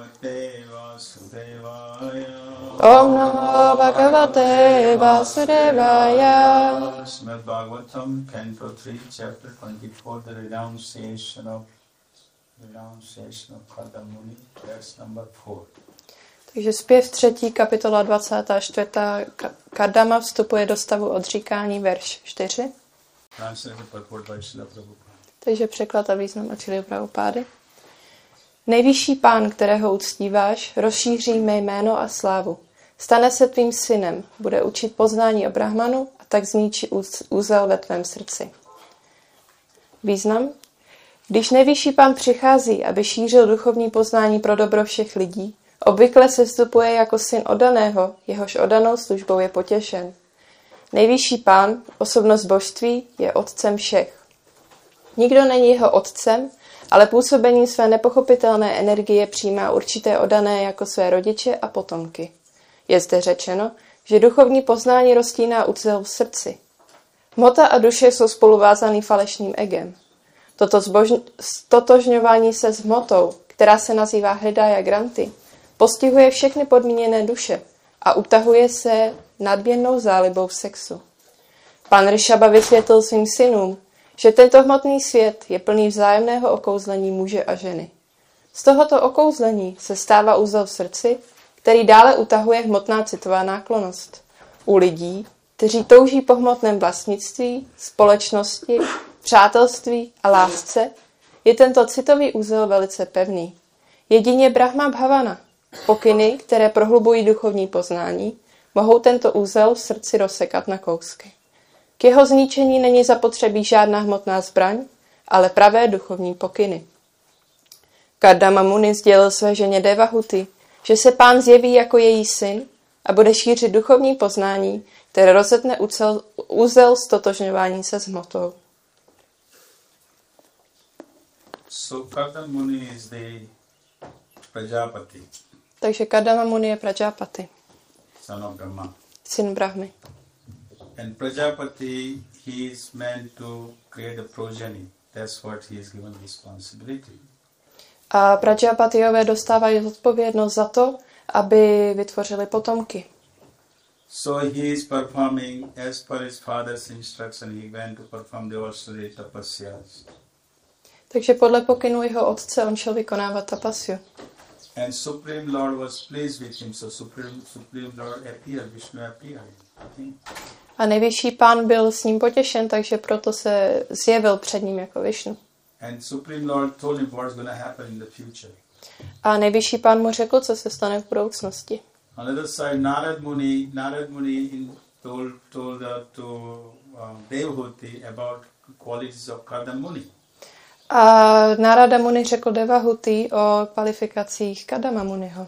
Om Namo Bhagavate Vasudevaya. Srimad Bhagavatam, Canto 3, Chapter 24, the renunciation of Kadamuni, verse number 4. Takže zpěv 3. kapitola 24. Kardama vstupuje do stavu odříkání, verš 4. Takže překlad a význam od Šrily Prabhupády. Nejvyšší pán, kterého uctíváš, rozšíří mé jméno a slávu. Stane se tvým synem, bude učit poznání o Brahmanu a tak zničí úzel ve tvém srdci. Význam? Když nejvyšší pán přichází, aby šířil duchovní poznání pro dobro všech lidí, obvykle se vstupuje jako syn oddaného, jehož oddanou službou je potěšen. Nejvyšší pán, osobnost božství, je otcem všech. Nikdo není jeho otcem, ale působením své nepochopitelné energie přijímá určité oddané jako své rodiče a potomky. Je zde řečeno, že duchovní poznání roztíná úcel v srdci. Hmota a duše jsou spoluvázaný falešným egem. Toto stotožňování se s hmotou, která se nazývá Hridaya Granthi, postihuje všechny podmíněné duše a utahuje se nadměrnou zálibou v sexu. Pan Rishaba vysvětlil svým synům, že tento hmotný svět je plný vzájemného okouzlení muže a ženy. Z tohoto okouzlení se stává úzel v srdci, který dále utahuje hmotná citová náklonnost. U lidí, kteří touží po hmotném vlastnictví, společnosti, přátelství a lásce, je tento citový úzel velice pevný. Jedině Brahma Bhavana, pokyny, které prohlubují duchovní poznání, mohou tento úzel v srdci rozsekat na kousky. K jeho zničení není zapotřebí žádná hmotná zbraň, ale pravé duchovní pokyny. Kardama Muni sdělil své ženě Devahuti, že se pán zjeví jako její syn a bude šířit duchovní poznání, které rozetne úzel stotožňování se s hmotou. So Kardama Muni is the Prajapati. Takže Kardama Muni je Prajapati, Son of Brahma. syn Brahmy. And Prajapati, he is meant to create a progeny. That's what he is given responsibility. A Prajapatiové dostávají odpovědnost za to, aby vytvořili potomky. So he is performing as per his father's instruction. He went to perform devotional tapasyas. Takže podle pokynu jeho otce on šel vykonávat tapasyu. And Supreme Lord was pleased with him. So Supreme Lord appeared, Vishnu appeared. Okay? A nejvyšší pán byl s ním potěšen, takže proto se zjevil před ním jako Višnu. And Supreme Lord told him what's going to happen in the future. A nejvyšší pán mu řekl, co se stane v budoucnosti. On the other side, Narad Muni told to Devahuti about qualities of Kardama Muni. A Narada Muni řekl Devahuti o kvalifikacích Kardama Muniho.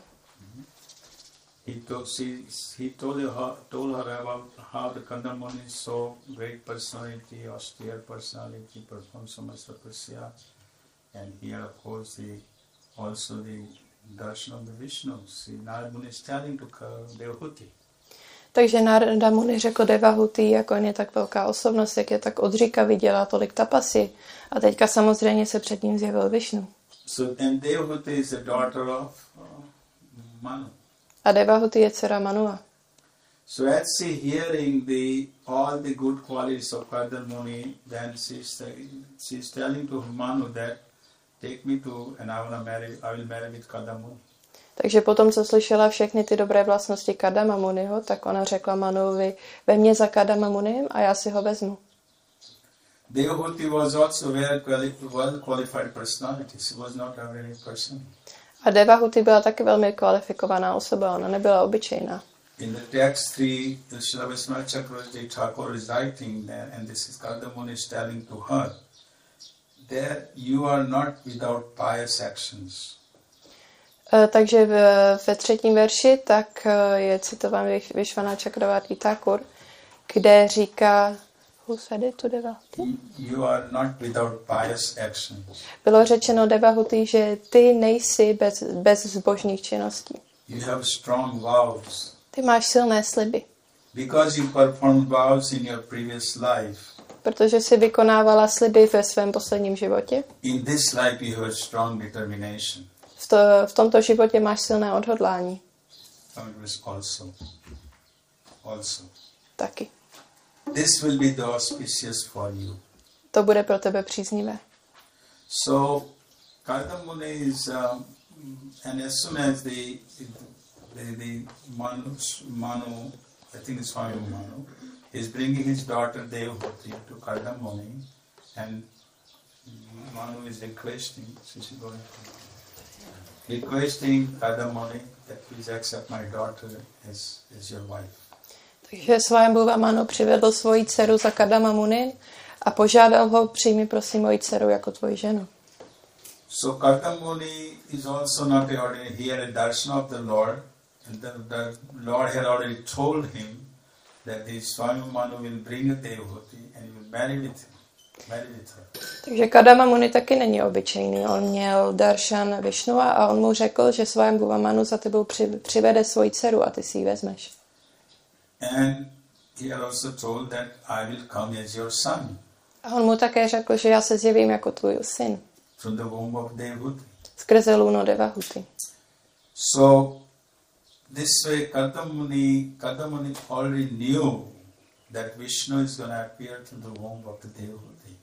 He told her about how the Kardama Muni is so great personality, austere personality, performs so much tapasya, and here of course also the darshan of the Vishnu. See, Narad Muni is telling to Devahuti. Takže Narada Muni řekl Devahuti, jako on je tak velká osobnost, jak je tak odříkavý, dělá tolik tapasy. A teďka samozřejmě se před ním zjevil Višnu. So, and Devahuti is the daughter of Manu. A Devahuti je dcera Manua. So as she hearing all the good qualities of Kardama Muni, then she's telling to Manu that take me to and I will marry with Kardama Muni. Takže potom, co slyšela všechny ty dobré vlastnosti Kardama Muniho, tak ona řekla Manuovi, vem mě za Kardama Muniem a já si ho vezmu. Devahuti was also a very well qualified personality. She was not a very person. A Devahuti byla taky velmi kvalifikovaná osoba, ona nebyla obyčejná. In the text 3, Srila Vaishnava Chakravarti Thakur is writing there, and this is Kardama Muni is telling to her, that you are not without pious actions. Takže ve 3. verši tak je citován Vishwanath Chakravarti Thakur, kde říká, who said it to Devahuti? You are not without pious actions. Bylo řečeno Devahuti, že ty nejsi bez zbožných činností. You have strong vows. Ty máš silné sliby. Because you performed vows in your previous life. Protože jsi vykonávala sliby ve svém posledním životě. In this life you have strong determination. v tomto životě máš silné odhodlání. Also. Taky. This will be the auspicious for you. To bude pro tebe příznivé. So, Kardamuni is, and as soon as the Manu, I think it's Manu, is bringing his daughter Devhuti to Kardamuni, and Manu is requesting Kardamuni that please accept my daughter as your wife. Takže Svayambhuva Manu přivedl svoji dceru za Kardama Muni a požádal ho, přijmi prosím moji dceru jako tvoji ženu. So Kardama Muni is also not ordinary. He had a darshan of the Lord, and the Lord had already told him that the Swami Manu will bring a Devhuti and he will marry with her. Takže Kardama Muni taky není obyčejný. On měl darshan Višnua a on mu řekl, že Svayambhuva Manu za tebou přivede svoji dceru a ty si ji vezmeš. And he had also told that I will come as your son. A on mu také řekl, že já se zjevím jako tvůj syn. From the womb of Devhuti. Skrze lůno Devahuti. So this way Kardama Muni already knew that Vishnu is going to appear through the womb of the Devhuti.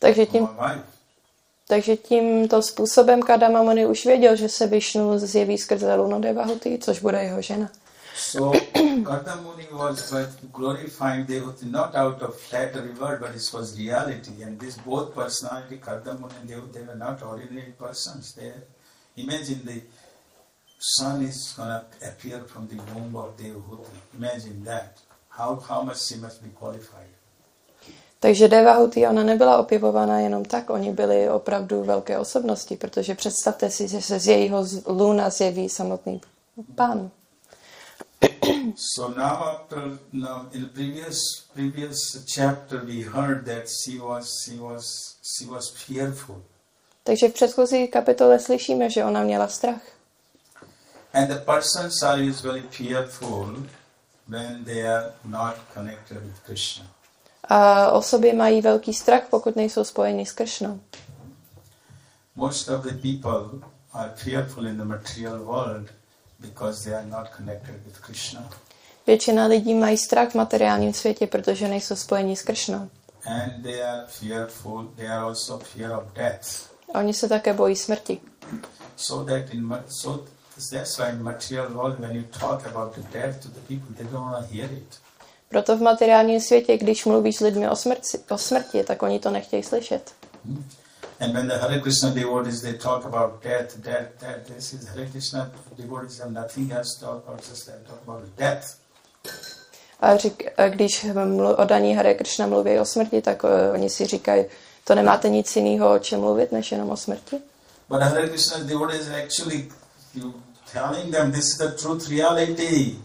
Takže tímto způsobem Kardama Muni už věděl, že se Višnu zjeví skrze lůno Devahuti, což bude jeho žena. So Kardama Muni was glorifying Devhuti not out of flattery word, but it was reality. And this both personality, Kardama Muni and Devhuti, they were not ordinary persons. Imagine the son is going to appear from the womb of Devhuti. Imagine that. How much she must be qualified. Takže Devahuti, ona nebyla opěvovaná jenom tak, oni byli opravdu velké osobnosti, protože představte si, že se z jejího lůna zjeví samotný pán. So now in the previous chapter we heard that she was fearful. Takže v předchozí kapitole slyšíme, že ona měla strach. And the persons are usually fearful when they are not connected with Krishna. A osoby mají velký strach, pokud nejsou spojeni s Kršnou. Most of the people are fearful in the material world because they are not connected with Krishna. Většina lidí mají strach v materiálním světě, protože nejsou spojeni s Kršnou. And they are fearful, they are also fear of death. A oni se také bojí smrti. That's why in material world when you talk about the death to the people, they don't want to hear it. Proto v materiálním světě, když mluvíš s lidmi o smrti, tak oni to nechtějí slyšet. And when the Hare Krishna devotees, they talk about death, this is Hare Krishna devotees have nothing else to talk about, just they talk about death. A když oddaní Hare Krishna mluví o smrti, tak oni si říkají, to nemáte nic jiného, o čem mluvit, než jenom o smrti. But Hare Krishna devotees are actually telling them this is the truth reality.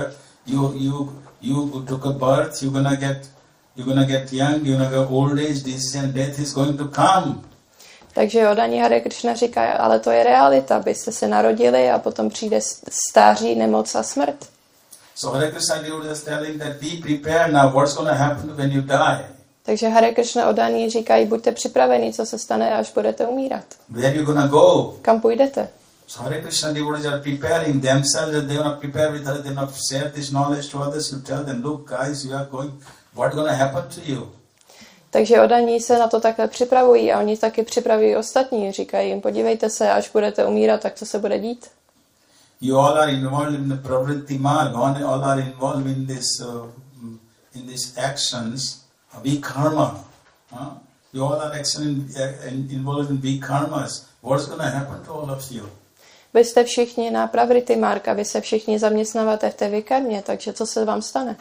You took a birth, you're gonna get young, you're gonna get old age, this and death is going to come. Takže oddaní Hare Krishna říká, ale to je realita, byste se narodili a potom přijde stáří, nemoc a smrt. So Hare Krishna is telling that be prepared now, what's going to happen when you die. Takže Hare Krishna oddaní říkají, buďte připraveni, co se stane, až budete umírat. Where you gonna go? Kam půjdete? So Hare Krishna devotees are preparing themselves, that they want to prepare with others, they want to share this knowledge to others, you tell them, look guys, you are going, what's going to happen to you? Takže oddaní se na to takhle připravují a oni taky připravují ostatní. Říkají jim, podívejte se, až budete umírat, tak co se bude dít? You all are involved in the pravritti marg, all are involved in these actions, vikarma. You all are involved in vikarmas. What's going to happen to all of you? Vy jste všichni na pravrity marg a vy se všichni zaměstnáváte v té vikarmě, takže co se vám stane?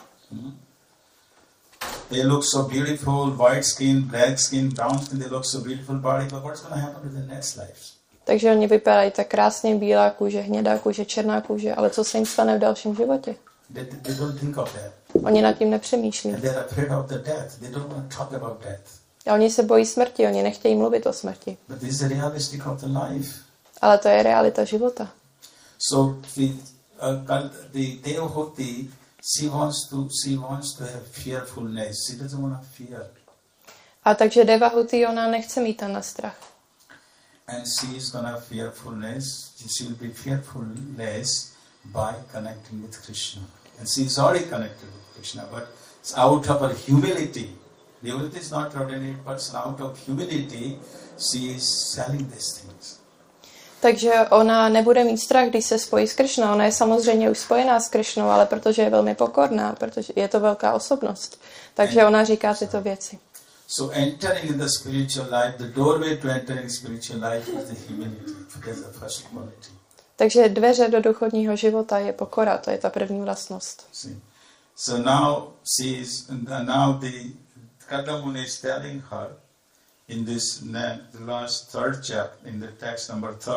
They look so beautiful, white skin, black skin, brown skin, they look so beautiful body, but what's going to happen to the next life? Takže oni vypadají tak krásně, bílá kůže, hnědá kůže, černá kůže, ale co se jim stane v dalším životě? They don't think of that. Oni nad tím nepřemýšlí. And they're afraid of the death. They don't want to talk about death. A oni se bojí smrti, oni nechtějí mluvit o smrti. But this is the realistic of the life. Ale to je realita života. So the Devhuti, she wants to have fearfulness. She doesn't want to fear. A takže Devahuti, ona nechce mít ten strach. and she is gonna fearfulness. She will be fearfulness by connecting with Krishna, and she is already connected with Krishna. But it's out of her humility. Devotee is not ordinary person. Out of humility, she is selling these things. Takže ona nebude mít strach, když se spojí s Krišnou. Ona je samozřejmě už spojená s Krišnou, ale protože je velmi pokorná, protože je to velká osobnost. Takže ona říká tyto věci. So entering in the spiritual life, the doorway to entering spiritual life is the humility. That is the first quality. Takže dveře do duchovního života je pokora, to je ta první vlastnost. So now the Kadamuni is telling her in this the last third chapter, in the text number 3,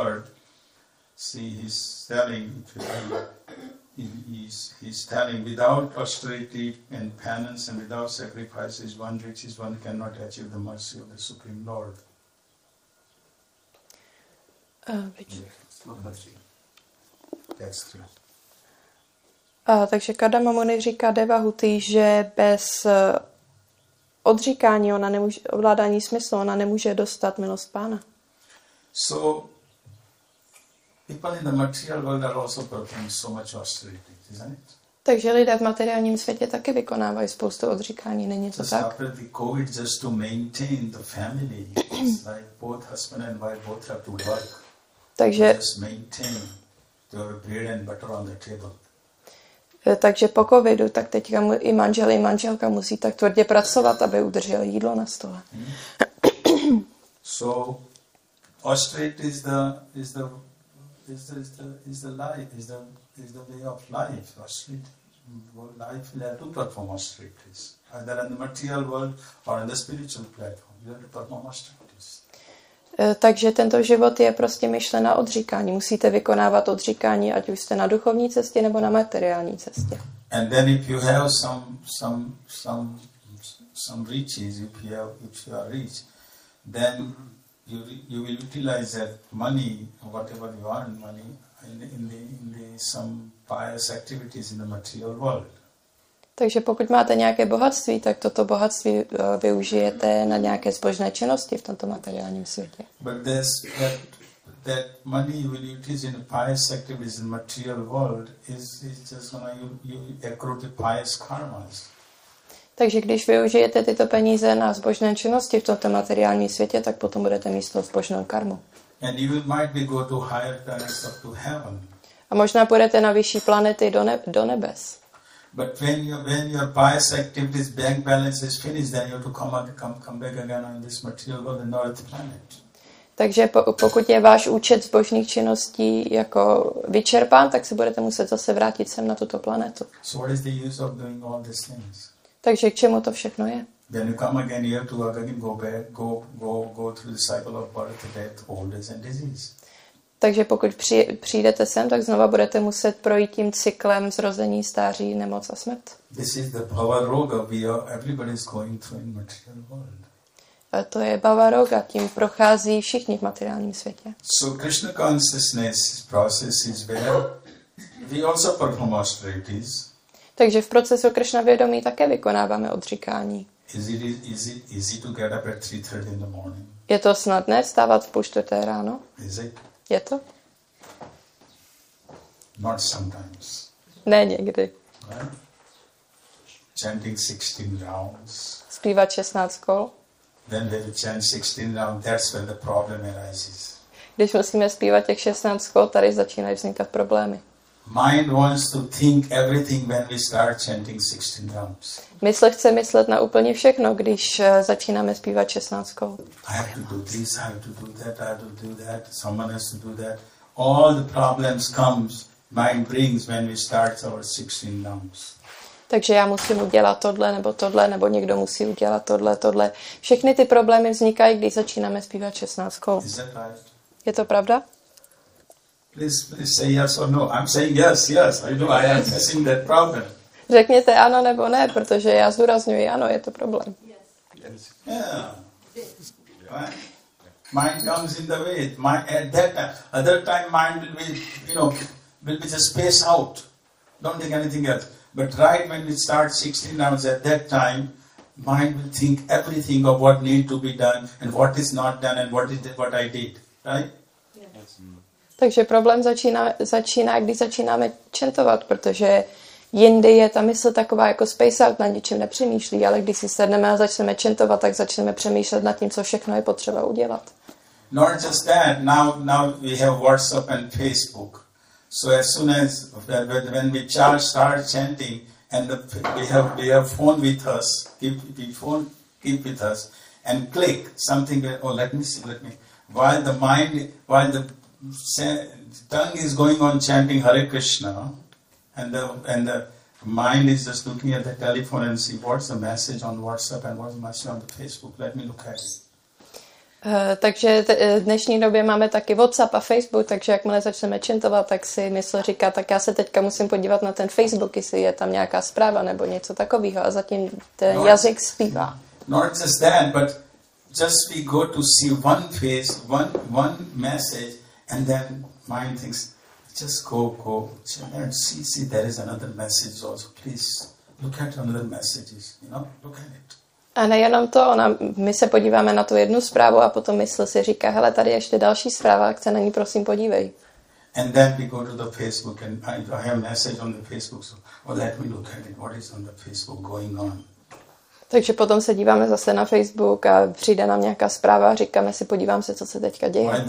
he's telling without austerity and penance and without sacrifices one reaches, one cannot achieve the mercy of the Supreme Lord. Takže Kadama Muni říká Devahuti, že bez odříkání, ovládání smyslu, ona nemůže dostat milost Pána. So, people in the material world are also performing so much austerity, isn't it? Takže lidé v materiálním světě taky vykonávají spoustu odříkání, není to tak? After the COVID, just to maintain the family, it's like both husband and wife both have to work. Takže just maintain your bread and butter on the table. Takže po covidu, tak teďka i manžel, i manželka musí tak tvrdě pracovat, aby udrželi jídlo na stole. So, austerity is the way of life. Austerity, life will have to perform austerities, either in the material world or in the spiritual platform. You have to perform austerities. Takže tento život je prostě myšlen na odříkání. Musíte vykonávat odříkání, ať už jste na duchovní cestě nebo na materiální cestě. And then if you have some riches, if you are rich, then you will utilize that money, whatever you earn money, in the some pious activities in the material world. Takže pokud máte nějaké bohatství, tak toto bohatství využijete na nějaké zbožné činnosti v tomto materiálním světě. But that money you will utilize in pious activities in the material world is just gonna you accrue the pious karmas. Takže když využijete tyto peníze na zbožné činnosti v tomto materiálním světě, tak potom budete mít toho zbožnou karmu. And you might be go to higher planets up to heaven. A možná půjdete na vyšší planety do nebes. But when your pious activities bank balance is finished, then you have to come back again on this material world and not earth planet. Takže pokud je váš účet zbožných činností jako vyčerpán, tak se budete muset zase vrátit sem na tuto planetu. So what is the use of doing all these things? Takže k čemu to všechno je? Then you come again, you have to again go back, go through the cycle of birth, death, old age and disease. Takže pokud přijdete sem, tak znova budete muset projít tím cyklem zrození, stáří, nemoc a smrt. This is the bhava roga everybody is going through in material world. A to je bhava roga, tím prochází všichni v materiálním světě. So Krishna consciousness process is where we also perform austerities. Takže v procesu Krishna vědomí také vykonáváme odříkání. Is it easy to get up at 3:30 in the morning? Je to snadné vstávat v 3:30 ráno? Is it? Je to? Not sometimes. Ne někdy. Right? Chanting 16 rounds. Zpívat 16 kol. Then when you chant 16 rounds, that's when the problem arises. Když musíme zpívat těch 16 kol, tady začínají vznikat problémy. Mind wants to think everything when we start chanting 16 rounds. Mysl chce myslet na úplně všechno, když začínáme zpívat 16 kol. I have to do this, I have to do that, I have to do that, someone has to do that. All the problems comes, mind brings when we start our 16 rounds. Takže já musím udělat tohle, nebo někdo musí udělat tohle. Všechny ty problémy vznikají, když začínáme zpívat 16 kol. Is that right? Je to pravda? Please say yes or no. I'm saying yes. I know I am facing that problem. Řekněte ano nebo ne, protože já zdůrazňuji ano, je to problém. Yes. Yeah. Right? Mind comes in the way. At that time, other time mind will be just space out. Don't think anything else. But right when we start 16 rounds, at that time, mind will think everything of what need to be done and what is not done and what I did. Right? Takže problém začíná, když začínáme čentovat, protože jindy je ta mysl taková jako space out, na ničem nepřemýšlí, ale když si sedneme a začneme čentovat, tak začneme přemýšlet nad tím, co všechno je potřeba udělat. Not just that, now we have WhatsApp and Facebook. So as soon as when we start chanting and we have phone with us, keep with us and click something. Let me see. While the tongue is going on chanting Hare Krishna, and the mind is just looking at the telephone and see what's the message on WhatsApp and what's the message on the Facebook. Let me look at it. Takže v dnešní době máme taky WhatsApp a Facebook, takže jakmile začneme čentovat, tak si mysl říká, tak já se teďka musím podívat na ten Facebook, jestli je tam nějaká zpráva nebo něco takového a zatím ten jazyk zpívá. Not just that, but just we go to see one face, one message, and then mind thinks, just go and see there is another message also. Please look at another messages, look at it. A nejenom to, my se podíváme na tu jednu zprávu a potom mysl si říká, hele, tady je ještě další zpráva, tak se na ní prosím podívej. And then we go to the Facebook and I have a message on the Facebook, so let me look at it, what is on the Facebook going on. Takže potom se díváme zase na Facebook a přijde nám nějaká zpráva a říkáme si, podívám se, co se teďka děje. While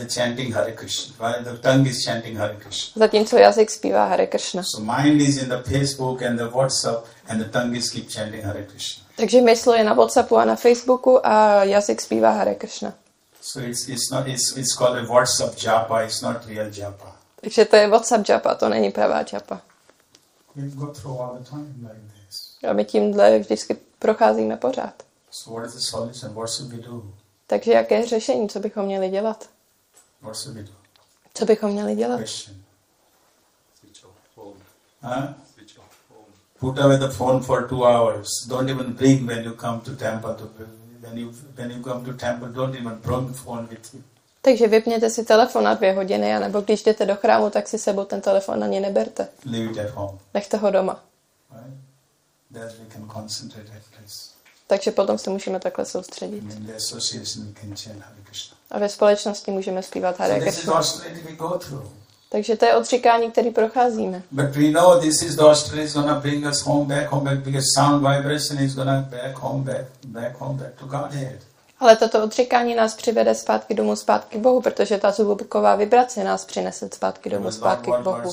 the tongue is chanting Hare Krishna. Zatímco jazyk zpívá Hare Krishna. So mind is in the Facebook and the WhatsApp and the tongue is keep chanting Hare Krishna. Takže mysl je na WhatsAppu a na Facebooku a jazyk zpívá Hare Krishna. So it's called a WhatsApp japa, it's not real japa. Takže to je WhatsApp japa, to není pravá japa. We go through all the time like this. A my tímhle vždycky procházíme pořád. So what is the solution? What should we do? Takže jaké je řešení, co bychom měli dělat? What should we do? Co bychom měli dělat? Question. Switch off phone. Switch off phone. Put away the phone for 2 hours. Don't even bring when you come to temple. When you come to temple, don't even bring the phone with you. Takže vypněte si telefon na 2 hodiny, anebo když jdete do chrámu, tak si sebou ten telefon ani neberte. Leave it at home. Nechte ho doma. Right? That we can concentrate at this. Takže potom se můžeme takhle soustředit. In the association we can chant Hare Krishna. A ve společnosti můžeme zpívat Hare So this is Krishna. austerity we go through. Takže to je odříkání, který procházíme. But we know this is the austerity is gonna bring us back, because sound vibration is gonna back home back to Godhead. Ale toto odříkání nás přivede zpátky domů, zpátky k Bohu, protože ta zvuková vibrace nás přinese zpátky domů, zpátky k Bohu.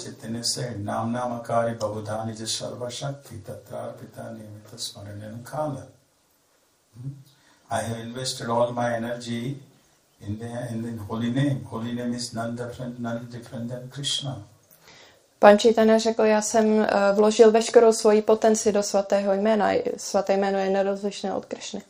I have invested all my energy in the holy name. Holy name is none different than Krishna. Pan Chaitanya řekl, já jsem vložil veškerou svoji potenci do svatého jména. Svaté jméno je nerozlišné od Krishny.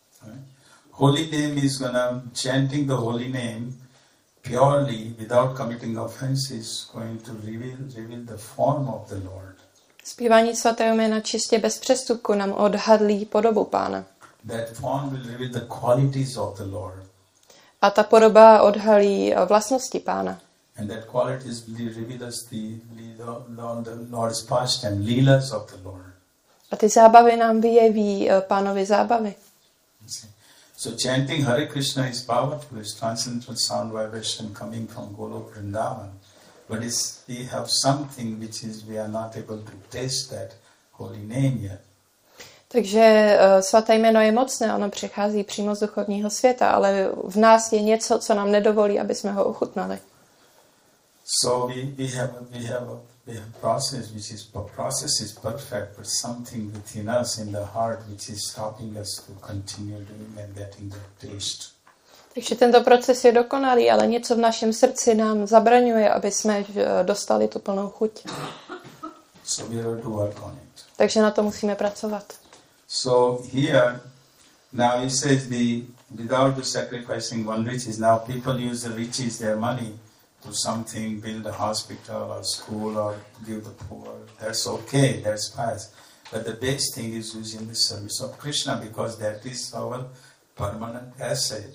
Holy name is chanting the holy name purely without committing offenses, going to reveal the form of the Lord. Zpívání svatého jména čistě bez přestupku nám odhadlí podobu Pána. That form will reveal the qualities of the Lord. A ta podoba odhalí vlastnosti Pána. And that qualities will reveal us the Lord's pastime, leelas of the Lord. A ty zábavy nám vyjeví Pánovi zábavy. So chanting Hare Krishna is powerful. It's transcendental sound vibration coming from Golok Vrindavan. But we have something which is we are not able to taste that holy name yet. Takže svaté jméno je mocné, ono přichází přímo z duchovního světa, ale v nás je něco, co nám nedovolí, aby jsme ho ochutnali. So we have process process is perfect, but something within us in the heart which is stopping us to continue doing and getting the taste. Takže tento proces je dokonalý, ale něco v našem srdci nám zabraňuje, aby jsme dostali tu plnou chuť. So we have to work on it. Takže na to musíme pracovat. So here, now it says without the sacrificing one riches, now people use the riches, their money, to something, build a hospital or school or give the poor. That's okay, that's fast. But the best thing is using the service of Krishna, because that is our permanent asset.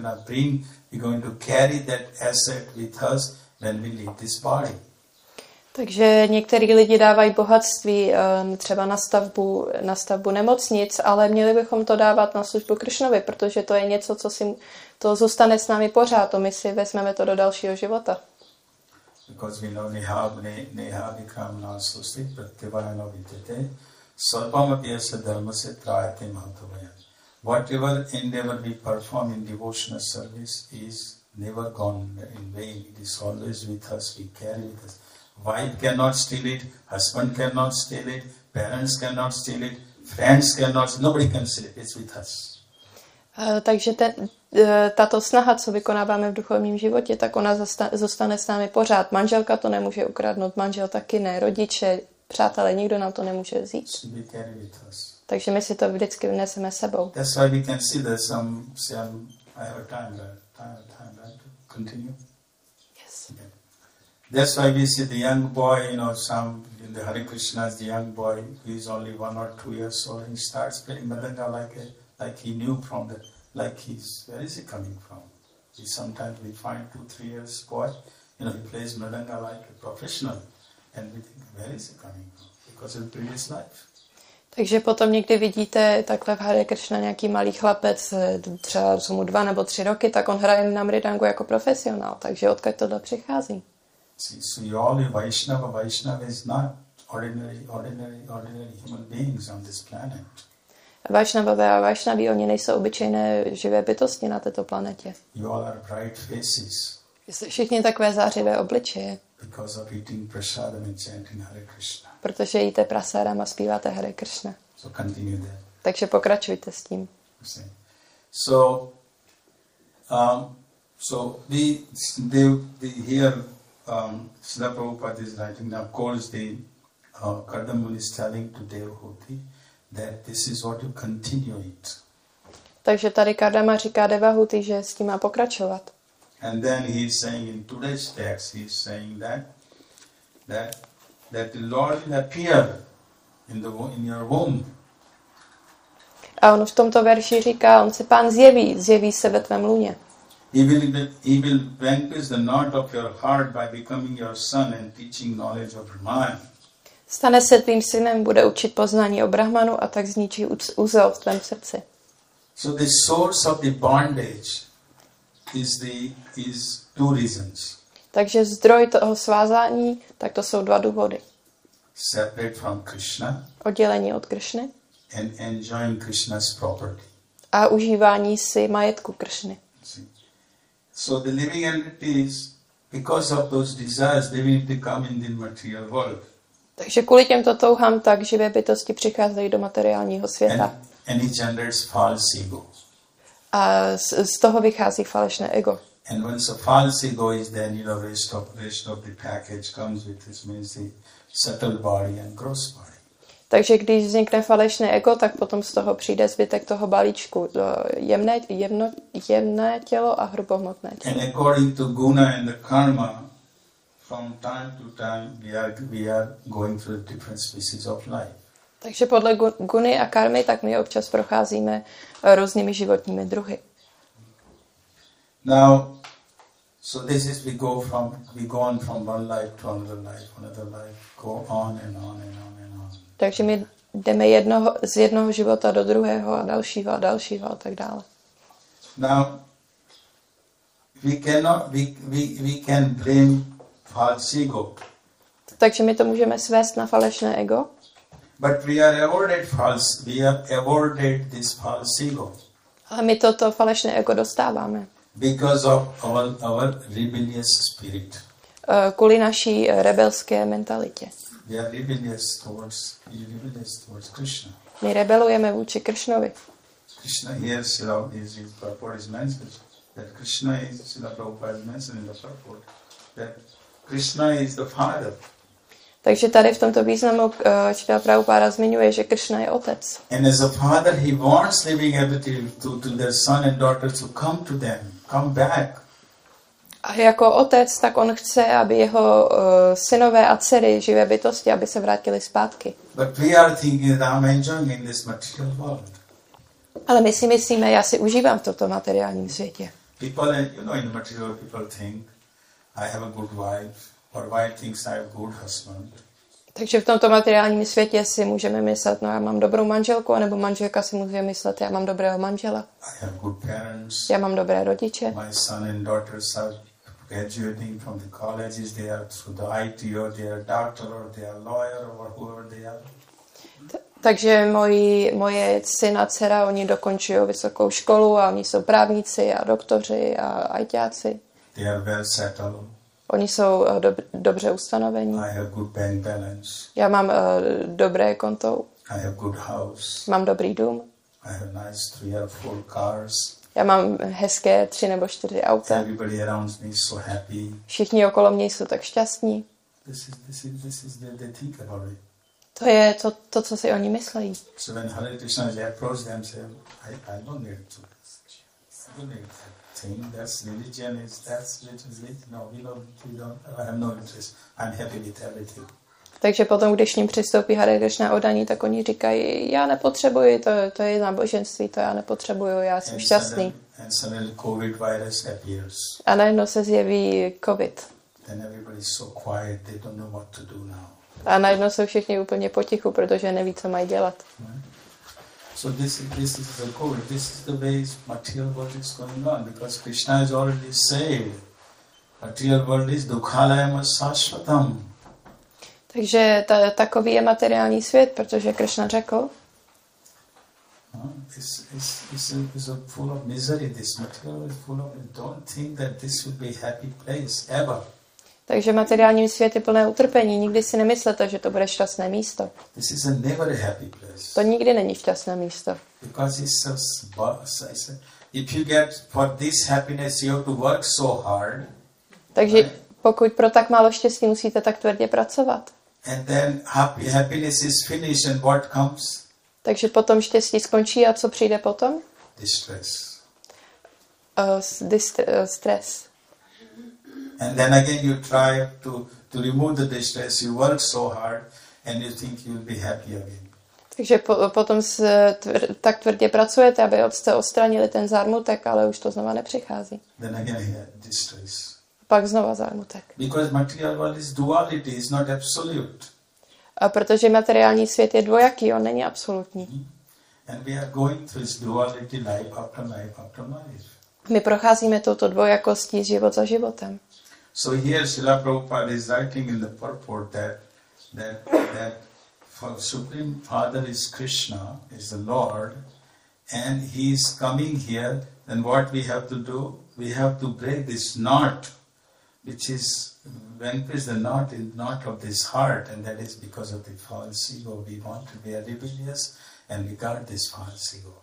We're going to carry that asset with us when we leave this body. Takže některý lidi dávají bohatství třeba na stavbu nemocnic, ale měli bychom to dávat na službu Kršnovi, protože to je něco, to zůstane s námi pořád, to my si vezmeme to do dalšího života. Because we know neha vikramna susti pratyvayana vidyate sarvamapyasya dharmasya trayate mahatavaya. Whatever endeavor we perform in devotional service is never gone in vain. It is always with us, we carry with us. Wife cannot steal it, husband cannot steal it, parents cannot steal it, friends cannot, nobody can steal it, it's with us. Takže tato snaha, co vykonáváme v duchovním životě, tak ona zůstane s námi pořád. Manželka to nemůže ukradnout, manžel taky ne, rodiče, přátelé, nikdo nám to nemůže vzít. Takže my si to vždycky vneseme sebou. That's why we can see there's some I have a time, right? To continue? Yes. Okay. That's why we see the young boy, some in the Hare Krishnas, the young boy, he is only 1 or 2 years old, he starts playing Mridanga like he knew from the, where is he coming from? Sometimes we find 2-3 years boy, he plays Mridanga like a professional, and we think, where is he coming from? Because of previous life. Takže potom někdy vidíte takhle v Hare Krishna nějaký malý chlapec, třeba jsou mu 2 nebo 3 roky, tak on hraje na mridangu jako profesionál, takže odkud tohle přichází? So all Vaishnava is not ordinary human beings on this planet. Vaishnavové a Vaishnaví, oni nejsou obyčejné živé bytosti na této planetě. You all are bright faces. Jste všichni takové zářivé obličeje. Because of eating prasadam and chanting Hare Krishna. Protože jíte prasadam a zpíváte Hare Krishna. So continue there. Takže pokračujte s tím. So they here Srila Prabhupada is writing. Now, of course, Kardamuni is telling to Devahuti that this is what you continue it. Takže tady Kardama říká Devahuti, že s tím má pokračovat. And then he is saying in today's text, he is saying that the Lord will appear in your womb. A on v tomto verši říká, on se Pán zjeví se ve tvém lůně. He will vanquish the knot of your heart by becoming your son and teaching knowledge of Brahman. Stane se tvým synem, bude učit poznání o Brahmanu a tak zničí úzel v tvém srdci. So the source of the bondage is 2 reasons. Takže zdroj toho svázání, tak to jsou 2 důvody. Separate from Krishna. Oddělení od Kršny. And enjoying Krishna's property. A užívání si majetku Kršny. So the living entities, because of those desires, they will become in the material world. Takže kvůli těmto touhám tak živé bytosti přicházejí do materiálního světa. And it generates false ego. A z toho vychází falešné ego. And once a false ego is then, rest of the package comes with this, means the subtle body and gross body. Takže když vznikne falešné ego, tak potom z toho přijde zbytek toho balíčku, jemné tělo a hrubohmotné tělo. And according to guna and the karma, from time to time we are going through different species of life. Takže podle guny a karmy, tak my občas procházíme různými životními druhy. Now, so this is we go on from one life to another life, go on and on and on and on. Takže my jdeme z jednoho života do druhého a dalšího a tak dále. Now, we can blame false ego. Takže my to můžeme svést na falešné ego. But we have avoided this false ego. Ale my toto falešné ego dostáváme. Because of our rebellious spirit. Kvůli naší rebelské mentalitě. We are rebellious towards Krishna. My rebelujeme vůči Kršnovi. Krishna here is purport is mentioned that Krishna is Srila Prabhupada is mentioned in the purport that Krishna is the father. Takže tady v tomto významu Srila Prabhupada zmiňuje, že Kršna je otec. And as a father, he wants living entity to their son and daughters to come back. A jako otec, tak on chce, aby jeho synové a dcery, živé bytosti, aby se vrátili zpátky. But we are thinking that I'm enjoying in this material world. Ale my si myslíme, já si užívám v tomto materiálním světě. People, in the material people think, I have a good wife, or wife thinks I have good husband. Takže v tomto materiálním světě si můžeme myslet, no já mám dobrou manželku, anebo manželka si může myslet, já mám dobrého manžela. I have good parents. Já mám dobré rodiče. My son and daughters are graduating from the colleges. They are through the IT, or they are doctor, or they are lawyer, or whoever they are. Takže moje syn a dcera, oni dokončují vysokou školu a oni jsou právníci a doktoři a ajťáci. They are well settled. Oni jsou dobře ustanovení. I have good bank balance. Já mám dobré konto. I have good house. Mám dobrý dům. I have nice 3 or 4 cars. Já mám hezké 3 nebo 4 auta. Everybody around me is so happy. Všichni okolo mě jsou tak šťastní. This is they think about it. To je to, co si oni myslejí. So when Hare Krishna approach them, say, I don't need to. I don't need that thing. That's religion. That's religion. No, we don't. I have no interest. I'm happy with everything. Takže potom, když k ním přistoupí Hare Krishna oddaní, tak oni říkají, já nepotřebuji, to je náboženství, to já nepotřebuju, já jsem šťastný. And suddenly COVID virus appears. A najednou se zjeví COVID. Then everybody is so quiet, they don't know what to do now. A najednou jsou všichni úplně potichu, protože neví, co mají dělat. So this is the goal. This is the way material world is going on, because Krishna has already said, material world is dukhalayam sashvatam. Takže takový je materiální svět, protože Krishna řekl, It's full of misery. This material is full of. Don't think that this will be a happy place ever. Takže materiální svět je plné utrpení. Nikdy si nemyslete, že to bude šťastné místo. This is never a happy place. To nikdy není šťastné místo. Because if you get for this happiness, you have to work so hard. Takže pokud pro tak málo štěstí musíte tak tvrdě pracovat. And then happiness is finished, and what comes? Takže potom štěstí skončí a co přijde potom? Distress. Stres. And then again you try to remove the distress, you work so hard, and you think you'll be happy again. Takže potom tak tvrdě pracujete, aby jste odstranili ten zármutek, ale už to znova nepřichází. Then again distress. Pak znova zármutek. Because material world is duality, is not absolute. A protože materiální svět je dvojaký, on není absolutní. And we are going through this duality life after life after life. My procházíme touto dvojakostí život za životem. So here Srila Prabhupada is writing in the purport that Supreme Father is Krishna, is the Lord, and he is coming here, then what we have to do? We have to break this knot, which is vanquish the knot of this heart, and that is because of the false ego. We want to be rebellious and regard this false ego.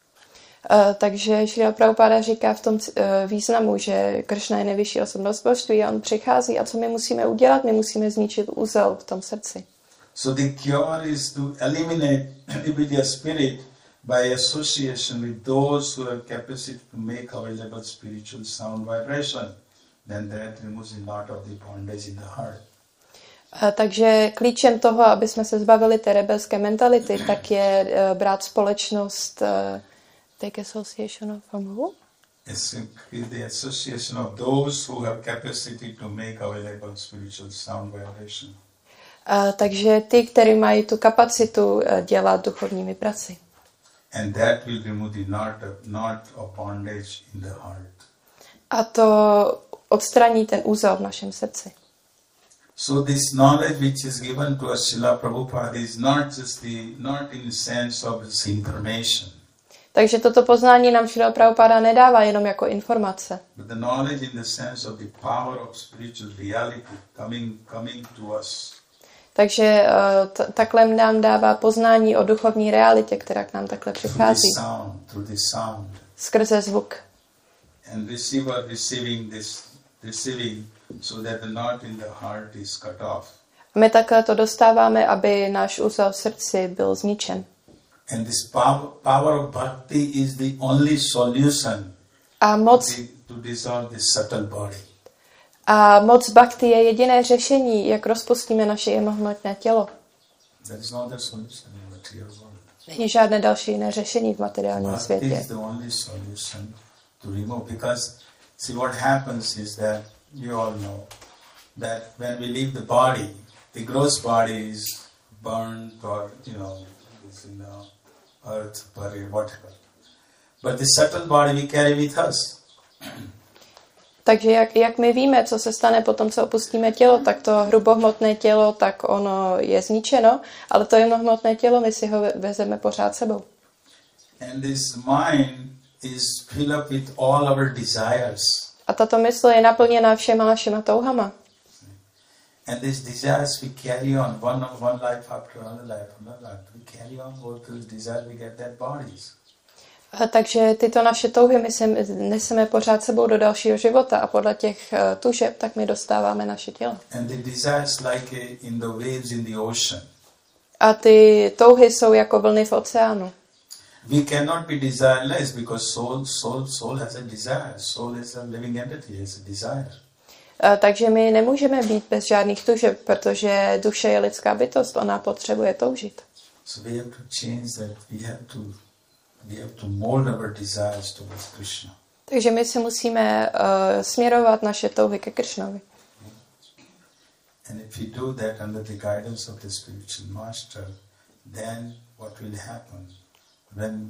Takže Šrila Prabhupada říká v tom významu, že Kršna je nejvyšší osobnost božství a on přichází a co my musíme udělat? My musíme zničit úzel v tom srdci. So the cure is to eliminate rebellious spirit by association with those who have capacity to make available spiritual sound vibration. Then that removes the knot of the bondage in the heart. Takže klíčem toho, aby jsme se zbavili té rebelské mentality, tak je brát společnost. Take association from who? It's the association of those who have capacity to make available spiritual sound vibration. Takže ty, kteří mají tu kapacitu dělat duchovní vibraci. And that will remove the knot of bondage in the heart. A to odstraní ten úzel v našem srdci. So this knowledge which is given to us, Srila Prabhupada, is not in the sense of this information. Takže toto poznání nám Šrila Prabhupada nedává jenom jako informace. But the knowledge in the sense of the power of spiritual reality coming to us. Takže takhle nám dává poznání o duchovní realitě, která k nám takhle přichází. Through the sound. Skrze zvuk. And receiver receiving so that the knot in the heart is cut off. My takhle to dostáváme, aby náš úzel v srdci byl zničen. And this power of bhakti is the only solution to dissolve this subtle body. A moc bhakti je jediné řešení, jak rozpustíme naše jemnohmotné tělo. There is no other solution in material world. Není žádné další jiné řešení v materiálním světě. Bhakti is the only solution to remove, because see what happens is that you all know that when we leave the body, the gross body is burned or, is in the earth, buried, whatever. But the subtle body we carry with us. Takže jak my víme, co se stane potom, co opustíme tělo, tak to hrubohmotné tělo, tak ono je zničeno, ale to jemnohmotné tělo, my si ho vezeme pořád sebou. And this mind is filled up with all our desires. A tato mysl je naplněná všema našima touhama. And these desires we carry on, one life after another life. We carry on all those desires, we get dead bodies. Takže tyto naše touhy my se neseme pořád sebou do dalšího života a podle těch tužeb tak my dostáváme naše tělo. And the desires like in the waves in the ocean. A ty touhy jsou jako vlny v oceánu. We cannot be desireless because soul has a desire. Soul is a living entity, has a desire. Takže my nemůžeme být bez žádných tužeb, protože duše je lidská bytost, ona potřebuje toužit. So we have to change that. We have to mold our desires towards Krishna. Takže my si musíme směrovat naše touhy ke Kršnovi. And if we do that under the guidance of the spiritual master, then what will happen? When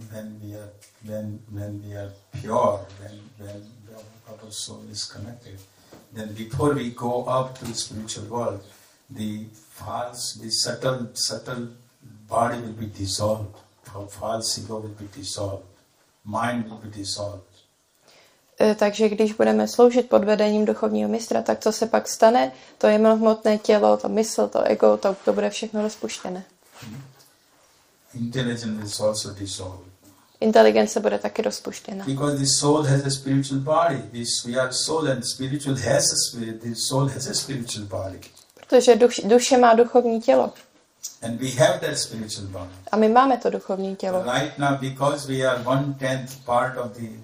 we are pure, when our soul is connected, then before we go up to the spiritual world, the subtle body will be dissolved. False ego will be dissolved. Mind will be dissolved. Takže když budeme sloužit pod vedením duchovního mistra, tak co se pak stane? To jemnohmotné tělo, to mysl, to ego, to bude všechno rozpuštěné. Intelligence is also dissolved. Inteligence bude taky rozpuštěna. Because the soul has a spiritual body. We are soul and spiritual has a spirit. The soul has a spiritual body. Protože duše má duchovní tělo. And we have that spiritual body. A my máme to duchovní tělo. Right now, because we are 1/10 part of the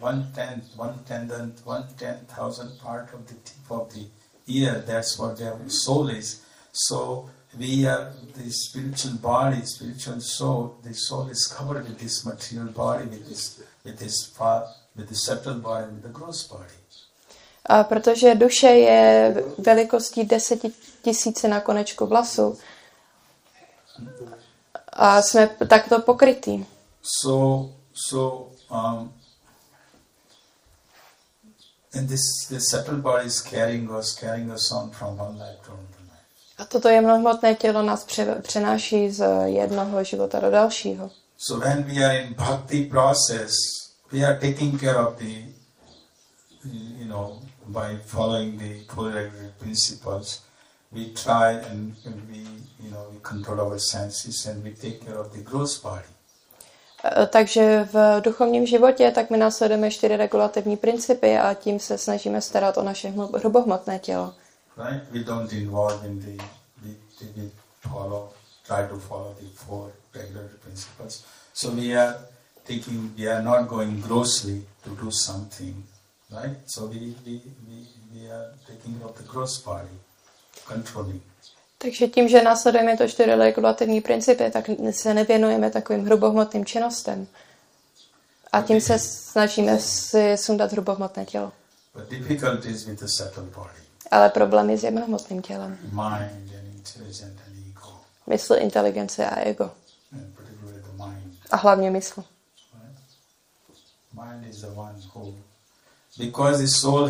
1/10,000 part of the tip of the ear, that's what the soul is. So we are the spiritual body, spiritual soul. The soul is covered with this material body, with the subtle body, with the gross body. A protože duše je velikostí 10 000 na konečku vlasu, a jsme takto pokrytí. And this subtle body is carrying us on from one life to another life. A toto jemnohmotné tělo nás přenáší z jednoho života do dalšího. So when we are in bhakti process, we are taking care of the, by following the four principles, we try and we control our senses and we take care of the gross body. Takže v duchovním životě tak my následujeme 4 regulativní principy a tím se snažíme starat o naše hrubohmotné tělo. Right? We don't involve in we try to follow the 4 regulatory principles. So we are not going grossly to do something, right? So we are taking care of the gross body, controlling. Takže tím, že následujeme to 4 regulativní principy, tak se nevěnujeme takovým hrubohmotným činnostem. A tím se snažíme si sundat hrubohmotné tělo. Ale problém je s jemnohmotným tělem. Mysl, inteligence a ego. A hlavně mysl. Because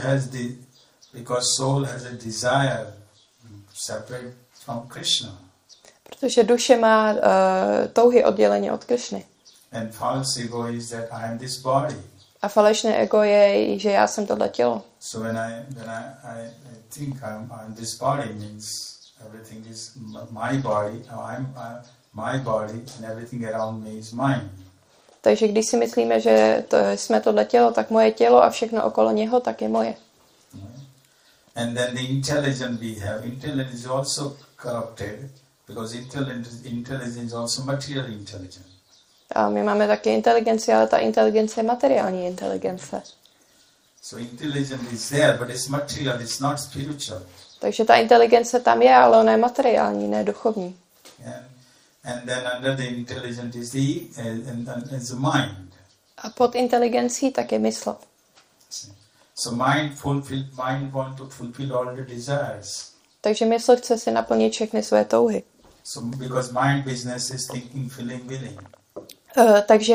soul has a desire separate from Krishna. Protože duše má touhy odděleně od Krishny. And false ego is that I am this body. A falešné ego je, že já jsem tohle tělo. So when I think I'm this body, means everything is my body. I'm my body and everything around me is mine. Takže když si myslíme, že jsme tohle tělo, tak moje tělo a všechno okolo něho, tak je moje. And then the intelligence we have, intelligence is also corrupted because intelligence is also material intelligence. A my máme taky inteligenci, ale ta inteligence je materiální inteligence. So intelligence is there, but it's material, it's not spiritual. Takže ta inteligence tam je, ale ona je materiální, ne duchovní. And then under the intelligence is the mind. A pod inteligencí tak je mysl. So mind want to fulfill all the desires. Takže mysl chce si naplnit všechny své touhy. So because mind business is thinking, feeling, willing. Takže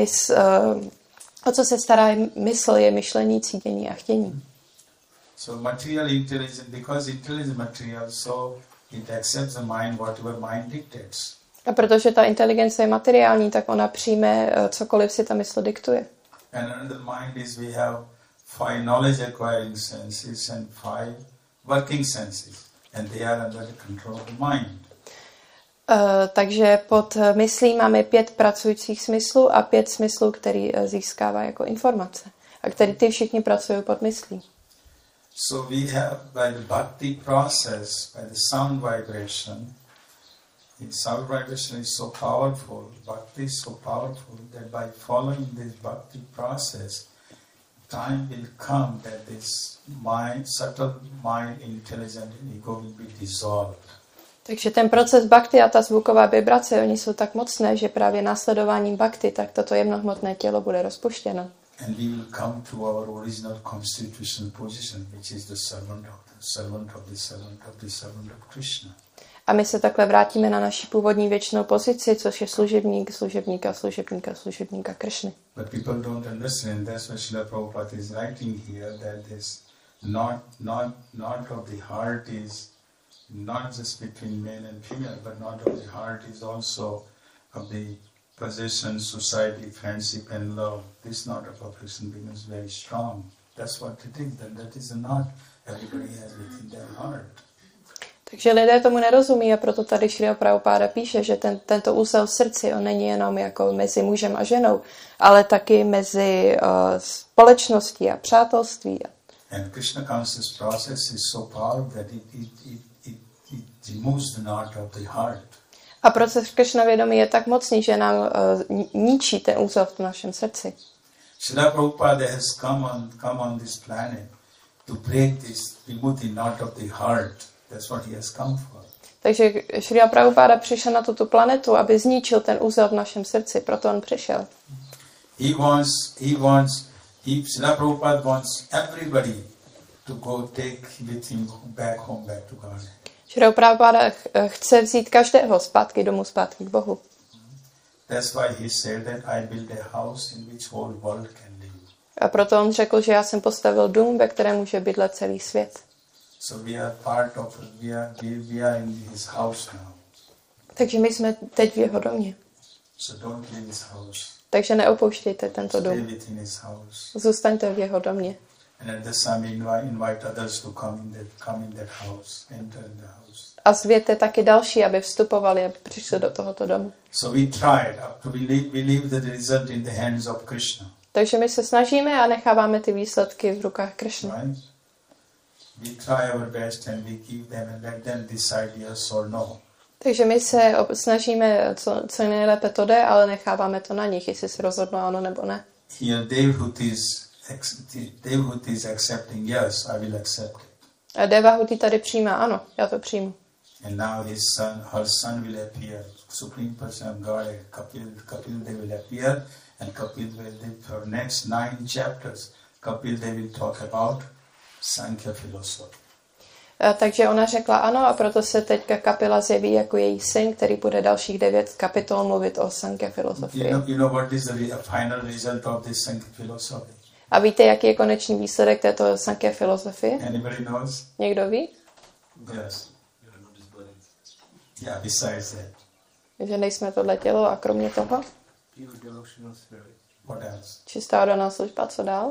o co se stará mysl, je myšlení, cítění a chtění. So material intelligence, because intelligence is material, so it accepts the mind, whatever mind dictates. A protože ta inteligence je materiální, tak ona přijme cokoliv si ta mysl diktuje. And under the mind is we have 5 knowledge acquiring senses and 5 working senses. And they are under the control of the mind. Takže pod myslí máme 5 pracujících smyslů a 5 smyslů, který získává jako informace. A který ty všichni pracují pod myslí. So we have, by the bhakti process, by the sound vibration, the sound vibration is so powerful, bhakti is so powerful that by following this bhakti process, time will come that this mind, subtle mind, intelligent ego will be dissolved. Takže ten proces bhakti a ta zvuková vibrace, oni jsou tak mocné, že právě následováním bhakti, tak toto jemnohmotné tělo bude rozpuštěno. And we will come to our original constitutional position, which is the servant of Krishna. A my se takhle vrátíme na naši původní věčnou pozici, což je služebníka Krishny. But people don't understand. That's what Srila Prabhupada is writing here, that this not of the heart is not just between male and female, but not of the heart is also of the possession, society, friendship, and love. This knot of affection becomes very strong. That's what it is. That is a knot everybody has within their heart. Takže lidé tomu nerozumí a proto tady Šrila Prabhupáda píše, že tento úzel v srdci, on není jenom jako mezi mužem a ženou, ale taky mezi společností a přátelství. And Krishna conscious process is so powerful that it removes the knot of the heart. A proces Krishna vědomí je tak mocný, že nám ničí ten úzel v našem srdci. Srila Prabhupada has come on this planet to break this, remove the knot of the heart. That's what he has come for. Takže Šrila Prabhupáda přišel na tuto planetu, aby zničil ten úzel v našem srdci, proto on přišel. Srila Prabhupada wants everybody to go take with him back to God. Šrila Prabhupáda chce vzít každého zpátky domů, zpátky k Bohu. That's why he said that I build a house in which whole world can live. A proto on řekl, že já jsem postavil dům, ve kterém může bydlet celý svět. So we are part of we are in his house now. Takže my jsme teď v jeho domě. So don't leave his house. Takže neopouštějte tento dům. Stay within his house. Zůstaňte v jeho domě. And at the same invite others to come in that house, enter in the house. A zvěte taky další, aby vstupovali, aby přišli do tohoto domu. So we tried to believe the result in the hands of Krishna. Takže my se snažíme a necháváme ty výsledky v rukách Krishny. Right? We try our best and we give them and let them decide yes or no. Takže my se snažíme, co nejlépe to jde, ale necháváme to na nich, jestli se rozhodnou ano nebo ne. Here Devahuti is accepting yes, I will accept it. A Devahuti tady přijímá ano, já to přijmu. And now her son will appear. Supreme Person of God, Kapil they will appear, and Kapil will for next 9 chapters. Kapil they will talk about Sankhya philosophy. Takže ona řekla ano a proto se teďka Kapila zjeví jako její syn, který bude dalších 9 kapitol mluvit o Sankhya filozofii. You know what is the final result of this Sankhya philosophy? A víte, jaký je konečný výsledek této Sankhya filozofie? Anybody knows? Někdo ví? Yes. Yeah, besides that. Že nejsme tohle tělo a kromě toho? What else? Čistá oddaná služba, co dál?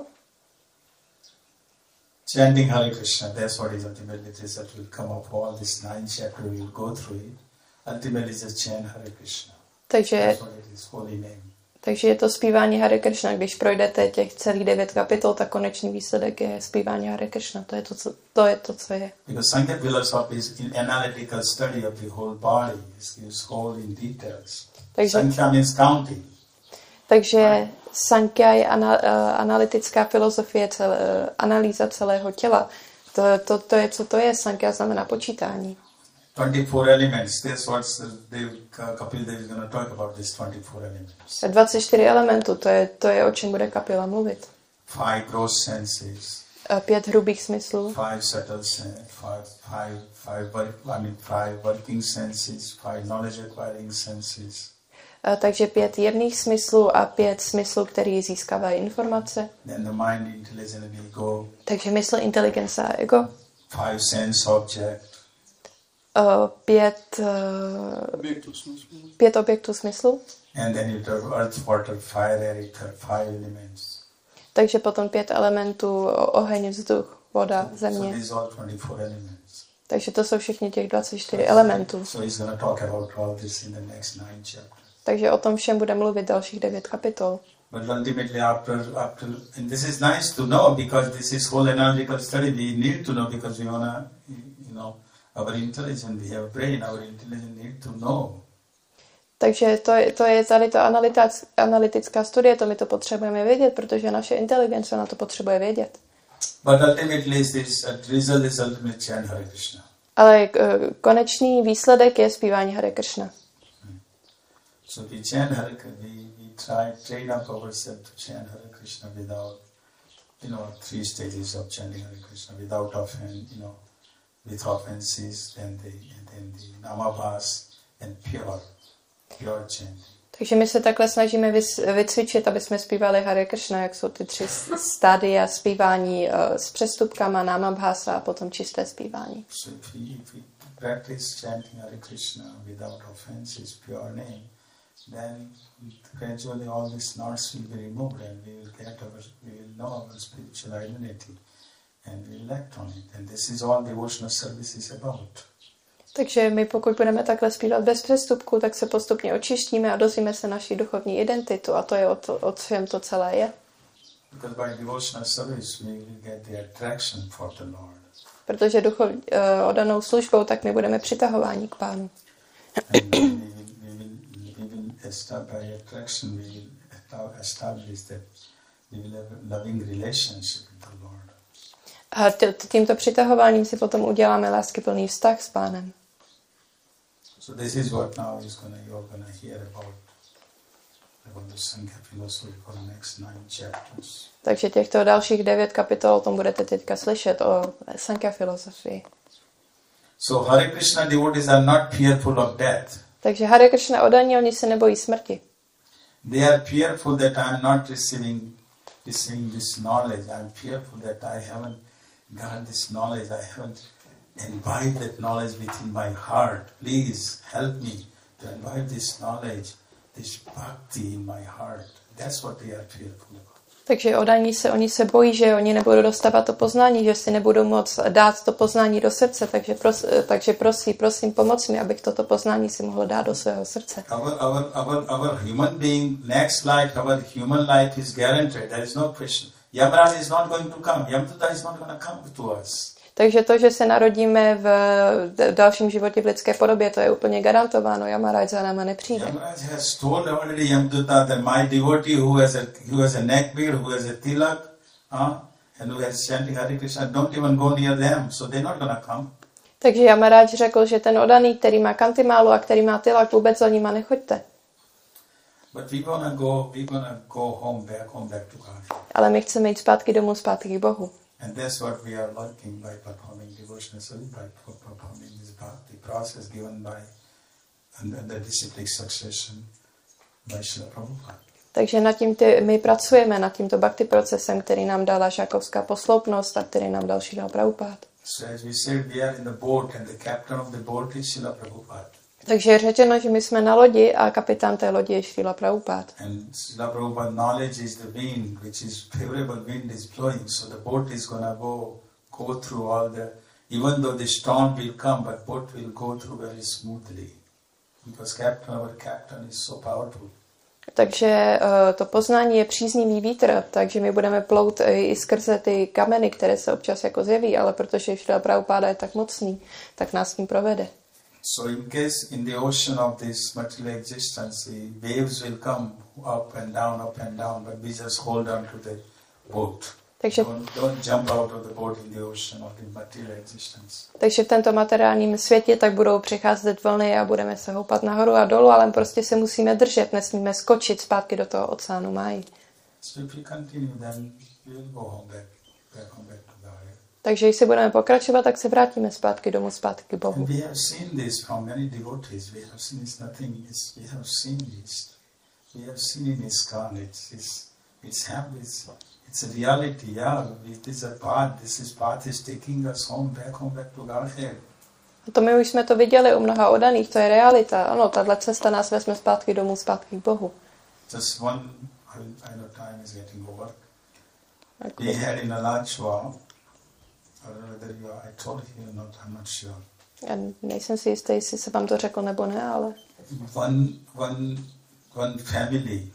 Chanting Hare Krishna, that's what is ultimately result will come of all this 9 chapter we will go through it. Ultimately just chant Hare Krishna. Takže je to zpívání Hare Krishna. Když projdete těch celých 9 kapitol, tak konečný výsledek je zpívání Hare Krishna. To je to, co je. Because Sankhya philosophy is an analytical study of the whole body. It's whole in details. Sankhya means counting. Takže Sankhya je analytická filozofie, analýza celého těla. To je, co to je. Sankhya znamená počítání. 24 elements. That's what Kapil Dev is going to talk about, these 24 elements. 24 elementů, to je o čem bude Kapila mluvit. 5 gross senses. 5 hrubých smyslů, 5 working senses, 5 knowledge acquiring senses. Takže 5 jemných smyslů a 5 smyslů, který získávají informace. Then the mind, intelligence and ego. Takže mysl, inteligence a ego. 5 sense object. 5 objektů smyslu. And then you have earth, water, fire, air, ether, 5 elements. Takže potom 5 elementů, oheň, vzduch, voda, země. So these are 24 elements. Takže to jsou všichni těch 24 elementů. So he's going to talk about all this in the next 9 chapters. Takže o tom všem bude mluvit dalších 9 kapitol. But ultimately after and this is nice to know because this is whole analytical study we need to know because we wanna, our intelligence, we have brain, our intelligence need to know. Takže to je tady to analytická studie, to my to potřebujeme vědět, protože naše inteligence na to potřebuje vědět. But ultimately this result is ultimately chant Hare Krishna. Ale konečný výsledek je zpívání Hare Krishna. So we chant Hare Krishna, we train up ourselves to chant Hare Krishna without, 3 stages of chanting Hare Krishna, without with offenses, then the namabhas and pure chanting. Takže my se takhle snažíme vycvičit, aby jsme zpívali Hare Krishna, jak jsou ty 3 stádia zpívání s přestupkama, namabhasa a potom čisté zpívání. So if we practice chanting Hare Krishna without offenses, pure name, then gradually all these knots will be removed and we will know our spiritual identity and we will act on it. And this is all devotional service is about. Takže my pokud budeme takhle zpívat bez přestupku, tak se postupně očistíme a dozvíme se naší duchovní identitu a to je o čem to celé je. Because by devotional service we will get the attraction for the Lord. Protože oddanou službou, tak my budeme přitahováni k Pánu. By attraction we will establish that we will have a loving relationship with the Lord. A tímto přitahováním si potom uděláme láskyplný vztah s Pánem. So this is what now you're gonna hear about the Sankhya philosophy for the next 9 chapters. Takže těchto dalších 9 kapitol o tom budete teďka slyšet o Sankhya filozofii. So Hare Krishna devotees are not fearful of death. Takže Hare Krishna oddaní, oni se nebojí smrti. They are fearful that I am not receiving this knowledge. I am fearful that I haven't got this knowledge. I haven't imbibed that knowledge within my heart. Please help me to imbibe this knowledge, this bhakti in my heart. That's what they are fearful about. Takže oni se bojí, že oni nebudou dostávat to poznání, že si nebudou moct dát to poznání do srdce, takže prosím, pomoc mi, abych toto poznání si mohl dát do svého srdce. Our human being, next life, our human life is guaranteed. There is no question. Yamaraj is not going to come. Yamduta is not going to come to us. Takže to, že se narodíme v dalším životě v lidské podobě, to je úplně garantováno. Yamaraj za náma nepřijde. Yamaraj has told already Yamduta that my devotee who has a neckbeard, who has a tilak, and who has chanting Hare Krishna, don't even go near them, so they're not going to come. Takže Yamaraj řekl, že ten oddaný, který má kantimálu a který má tilak, vůbec za nima nechoďte. But we gonna go home back to God. Ale my chceme jít zpátky domů, zpátky k Bohu. And that's what we are working by performing devotional service, by performing this bhakti process given by the disciplic succession by Srila Prabhupada. Takže my pracujeme nad tímto bhakti procesem, který nám dala žákovská posloupnost a který nám dal Srila Prabhupada. So as we said, we are in the boat and the captain of the boat is Srila Prabhupada. Takže je řečeno, že my jsme na lodi a kapitán té lodi je Srila Prabhupada. And Srila Prabhupada knowledge is the wind, which is favorable wind is blowing, so the boat is gonna go through all the, even though the storm will come, but boat will go through very smoothly, because our captain is so powerful. Takže to poznání je příznivý vítr, takže my budeme plout i skrze ty kameny, které se občas jako zjeví, ale protože Srila Prabhupada je tak mocný, tak nás tím provede. So in case in the ocean of this material existence, the waves will come up and down, but we just hold on to the boat. Takže, don't jump out of the boat in the ocean of the material existence. Takže v tomto materiálním světě tak budou přicházet vlny a budeme se houpat nahoru a dolů, ale prostě se musíme držet, nesmíme skočit zpátky do toho oceánu máji. So if we continue, then we will go home back to Takže jestli budeme pokračovat, tak se vrátíme zpátky domů, zpátky k Bohu. And we have seen this from many devotees. We have seen it's nothing. We have seen this. We have seen in ISKCON. It's a reality. Yeah, it is a path. This path is taking us back to Godhead. A to my už jsme to viděli u mnoha oddaných, to je realita. Ano, tahle cesta nás vezme zpátky domů, zpátky k Bohu. Just one, I know time is getting over. We had in Alachua, I don't know whether I told you or not, I'm not sure. Já nejsem si jistý, jestli se vám to řekl nebo ne, ale... One family,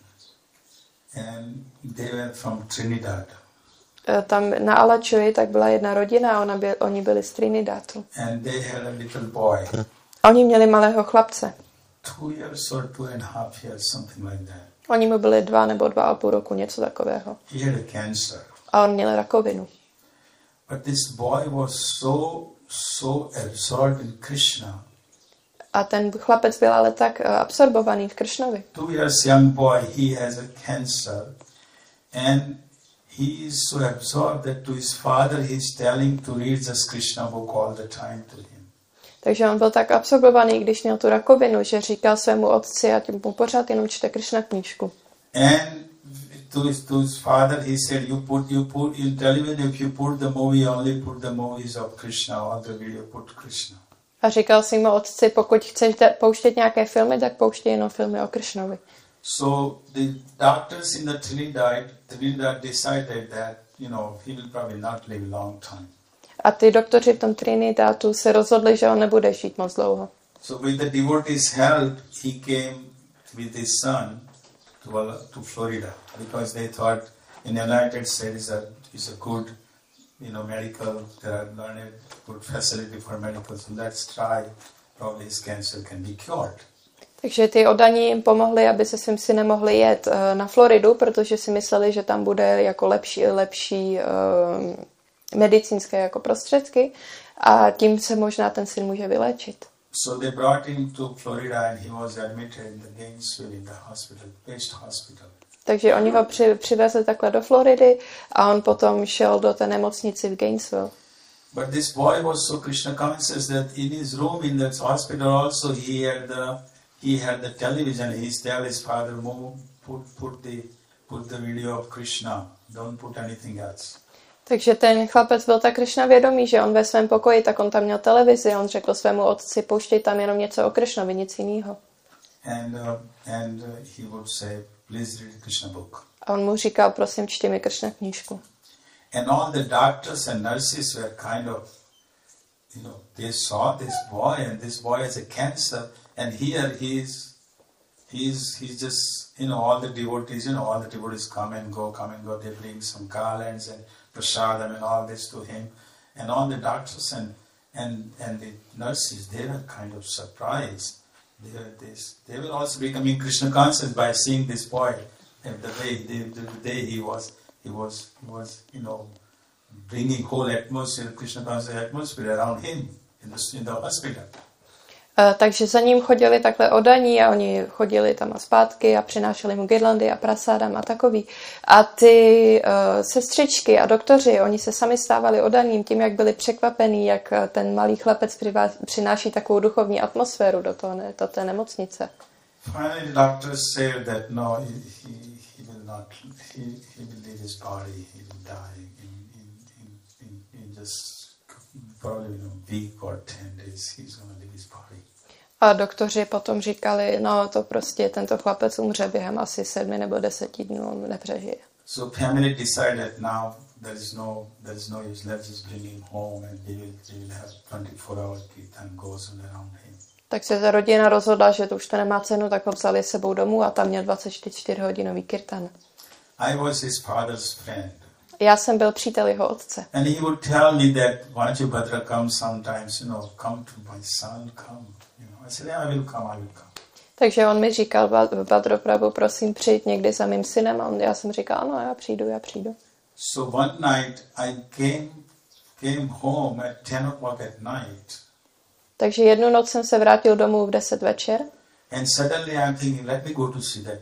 and they were from Trinidad. Tam na Alachui tak byla jedna rodina a oni byli z Trinidadu. And they had a little boy. Oni měli malého chlapce. 2 years or 2.5 years, something like that. Oni mu byli 2 nebo 2,5 roku, něco takového. He had a cancer. A on měl rakovinu. But this boy was so absorbed in Krishna. A ten chlapec byl ale tak absorbovaný v Kršnovi. 2 years young boy, he has a cancer, and he is so absorbed that to his father he is telling to read this Krishna book all the time to him. Takže on byl tak absorbovaný, když měl tu rakovinu, že říkal svému otci, ať mu pořád jenom čte Krishna knížku. And to his father he said, you television, if you put the movie, only put the movies of Krishna, all the video put Krishna. A říkal svému otci, pokud chceš pouštět nějaké filmy, tak pouštěj jenom filmy o Kršnovi. So the doctors in the Trinidad decided that, he will probably not live a long time. A ty doktoři v tom Trinidadu se rozhodli, že on nebude žít moc dlouho. So with the devotees' help, he came with his son to Florida, because they thought in the United States that is a good, medical, there are learned good facility for medical, so let's try, probably his cancer can be cured. Takže ty oddaní jim pomohli, aby se svým synem mohli jet na Floridu, protože si mysleli, že tam bude jako lepší medicínské jako prostředky a tím se možná ten syn může vyléčit. So they brought him to Florida and he was admitted in the Gainesville in the hospital, best hospital. Takže oni ho přivezli takhle do Floridy a on potom šel do té nemocnici v Gainesville. But this boy was so Krishna conscious that in his room in that hospital also he had the television. He tell his father, "Move, put the video of Krishna. Don't put anything else." Takže ten chlapec byl tak Krishna vědomý, že on ve svém pokoji, tak on tam měl televizi, on řekl svému otci, pouštěj tam jenom něco o Krishnovi, nic jiného. And he would say, please read Krishna book. A on mu říkal, prosím, čti mi Krishna knížku. And all the doctors and nurses were kind of, they saw this boy, and this boy has a cancer, and here he's just, all the devotees come and go, they bring some garlands and prasadam and all this to him, and all the doctors and the nurses, they were kind of surprised. They were also becoming Krishna conscious by seeing this boy, and the way he was bringing whole atmosphere, Krishna conscious atmosphere around him in the hospital. Takže za ním chodili takhle oddaní a oni chodili tam a zpátky a přinášeli mu girlandy a prasádam a takový. A ty sestřičky a doktoři, oni se sami stávali oddaným tím, jak byli překvapení, jak ten malý chlapec přináší takovou duchovní atmosféru do té nemocnice. Finally, the doctors said that no, he will not. He will leave his body. He will die in just probably a week or 10 days. He's going to leave his body. A doktoři potom říkali, no to prostě tento chlapec umře během asi 7 nebo 10 dnů, on nepřežije. So family decided now there is no use. Let's just bring him home and they will have 24-hour kirtan goes around him. Tak se ta rodina rozhodla, že to už to nemá cenu, tak ho vzali sebou domů a tam měl 24-hodinový kirtan. I was his father's friend. Já jsem byl přítel jeho otce. And he would tell me that Vajrabhadra comes sometimes, come to my son, come. I said, yeah, I will come. Takže on mi říkal, Bhadraprabhu, prosím, přijď někdy za mým synem. A já jsem říkal, ano, já přijdu. So one night I came home at 10 o'clock at night. Takže jednu noc jsem se vrátil domů v 10 večer. And suddenly I'm thinking, let me go to see that boy.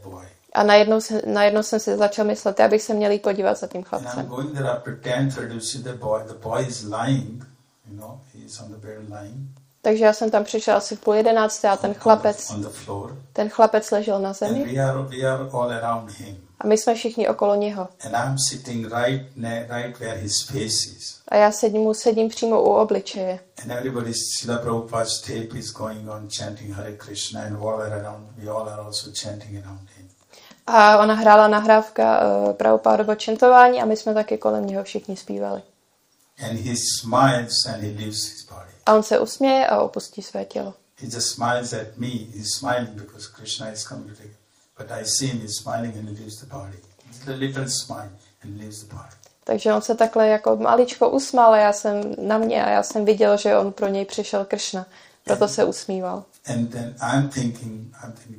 A najednou jsem si začal myslet, já bych se měl jít podívat za tím And I'm chlapcem. going there after 10:30 to see the boy. The boy is lying, he is on the bed lying. Takže já jsem tam přišel asi v 10:30 a On the floor. ten chlapec ležel na And zemi we are all around him. a my jsme všichni okolo něho. And I'm sitting right where his face is. A já sedím přímo u obličeje. And everybody's Srila Prabhupada's tape is going on chanting Hare Krishna, and all around, we all are also chanting around him. A ona hrála nahrávka Prabhupádovo čentování a my jsme taky kolem něho všichni zpívali. And he smiles and he leaves his body. A on se usměje a opustí své tělo. He just smiles at me. He's smiling because Krishna is coming to take him. But I see him, he's smiling and he leaves the body. It's a little smile and leaves the body. Takže on se takhle jako maličko usmál a já jsem viděl, že on pro něj přišel Kršna. Proto se usmíval. And then I'm thinking,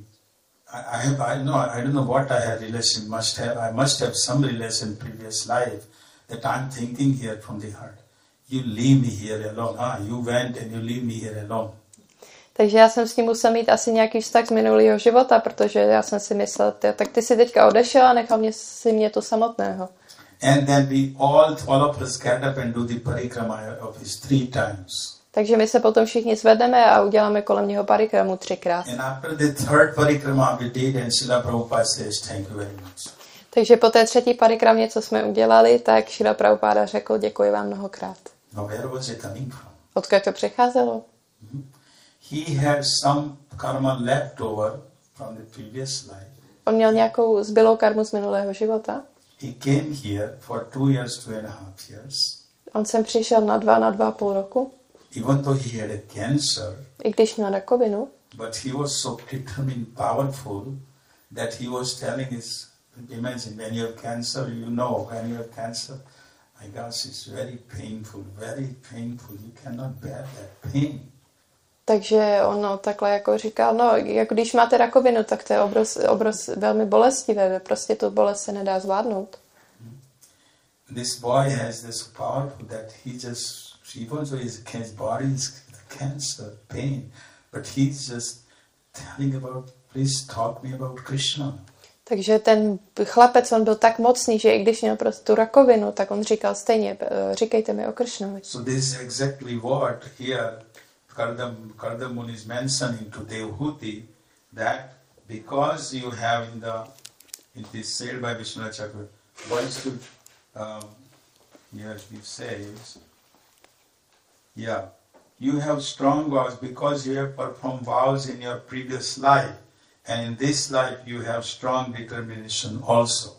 I don't know what I had relation, I must have some relation in previous life that I'm thinking here from the heart. You leave me here alone. You went and you leave me here alone. Takže já jsem s ním musel mít asi nějaký vztah z minulého života, protože já jsem si myslel, tak ty si teďka odešel a nechal mě tu samotného. And then all of us get up and do the parikrama of his 3 times. Takže my se potom všichni zvedneme a uděláme kolem něho parikramu 3krát. And after the 3rd parikrama we did, and Srila Prabhupada says, thank you very much. Takže po té 3. parikramě, co jsme udělali, tak Srila Prabhupada řekl, děkuji vám mnohokrát. Now where was it coming from? Odkud to přicházelo? He had some karma left over from the previous life. On měl nějakou zbylou karmu z minulého života. He came here for 2 years, 2.5 years. On sem přišel na 2,5 roku. Even though he had a cancer, I když měl rakovinu, but he was so determined, powerful, that he was telling his, imagine when you have cancer, when you have cancer, my gosh, it's very painful, you cannot bear that pain. takže on takhle jako říkal, jako když máte rakovinu, tak to je velmi bolestivé, prostě tu bolest se nedá zvládnout. This boy has this powerful that even though his body is cancer, pain, but he's just telling about, please talk me about Krishna. Takže ten chlapec, on byl tak mocný, že i když měl prostě tu rakovinu, tak on říkal stejně, říkejte mi o Kršnovi. So this is exactly what here Kardamuni is mentioning to Devhuti, that because you have it is said by Vishwanath Chakravarti, one should, here he says, you have strong vows because you have performed vows in your previous life, and in this life you have strong determination also.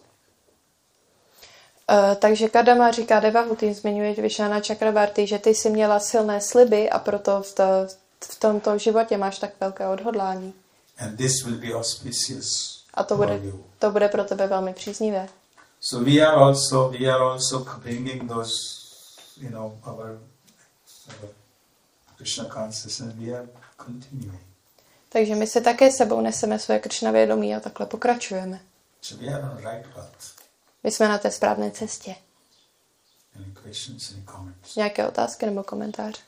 Takže Kadama říká Devahuti, zmiňuje Vishwanath Chakravarti, že ty jsi měla silné sliby a proto v tomto životě máš tak velké odhodlání. And this will be auspicious A to bude pro tebe velmi příznivé. So we are also bringing those, our Krishna consciousness. We are continuing. Takže my se také sebou neseme své Kršna vědomí a takhle pokračujeme. So we are on right path. My jsme na té správné cestě. Any questions, any comments? Nějaké otázky nebo komentáře?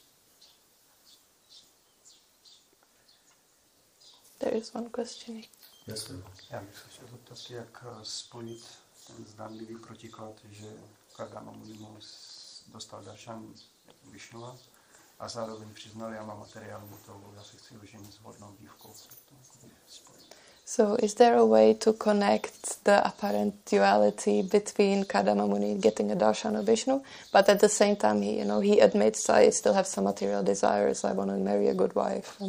There is one question. Yes, sir. Já bych se chtěl zeptat, jak spojit ten zdánlivý protiklad, že Kardama Muni dostal daršan Višnua a zároveň přiznal, já mám materiální touhu, já se chci oženit s vhodnou dívkou. So is there a way to connect the apparent duality between Kardama Muni getting a darshan of Vishnu, but at the same time he admits I still have some material desires, I want to marry a good wife.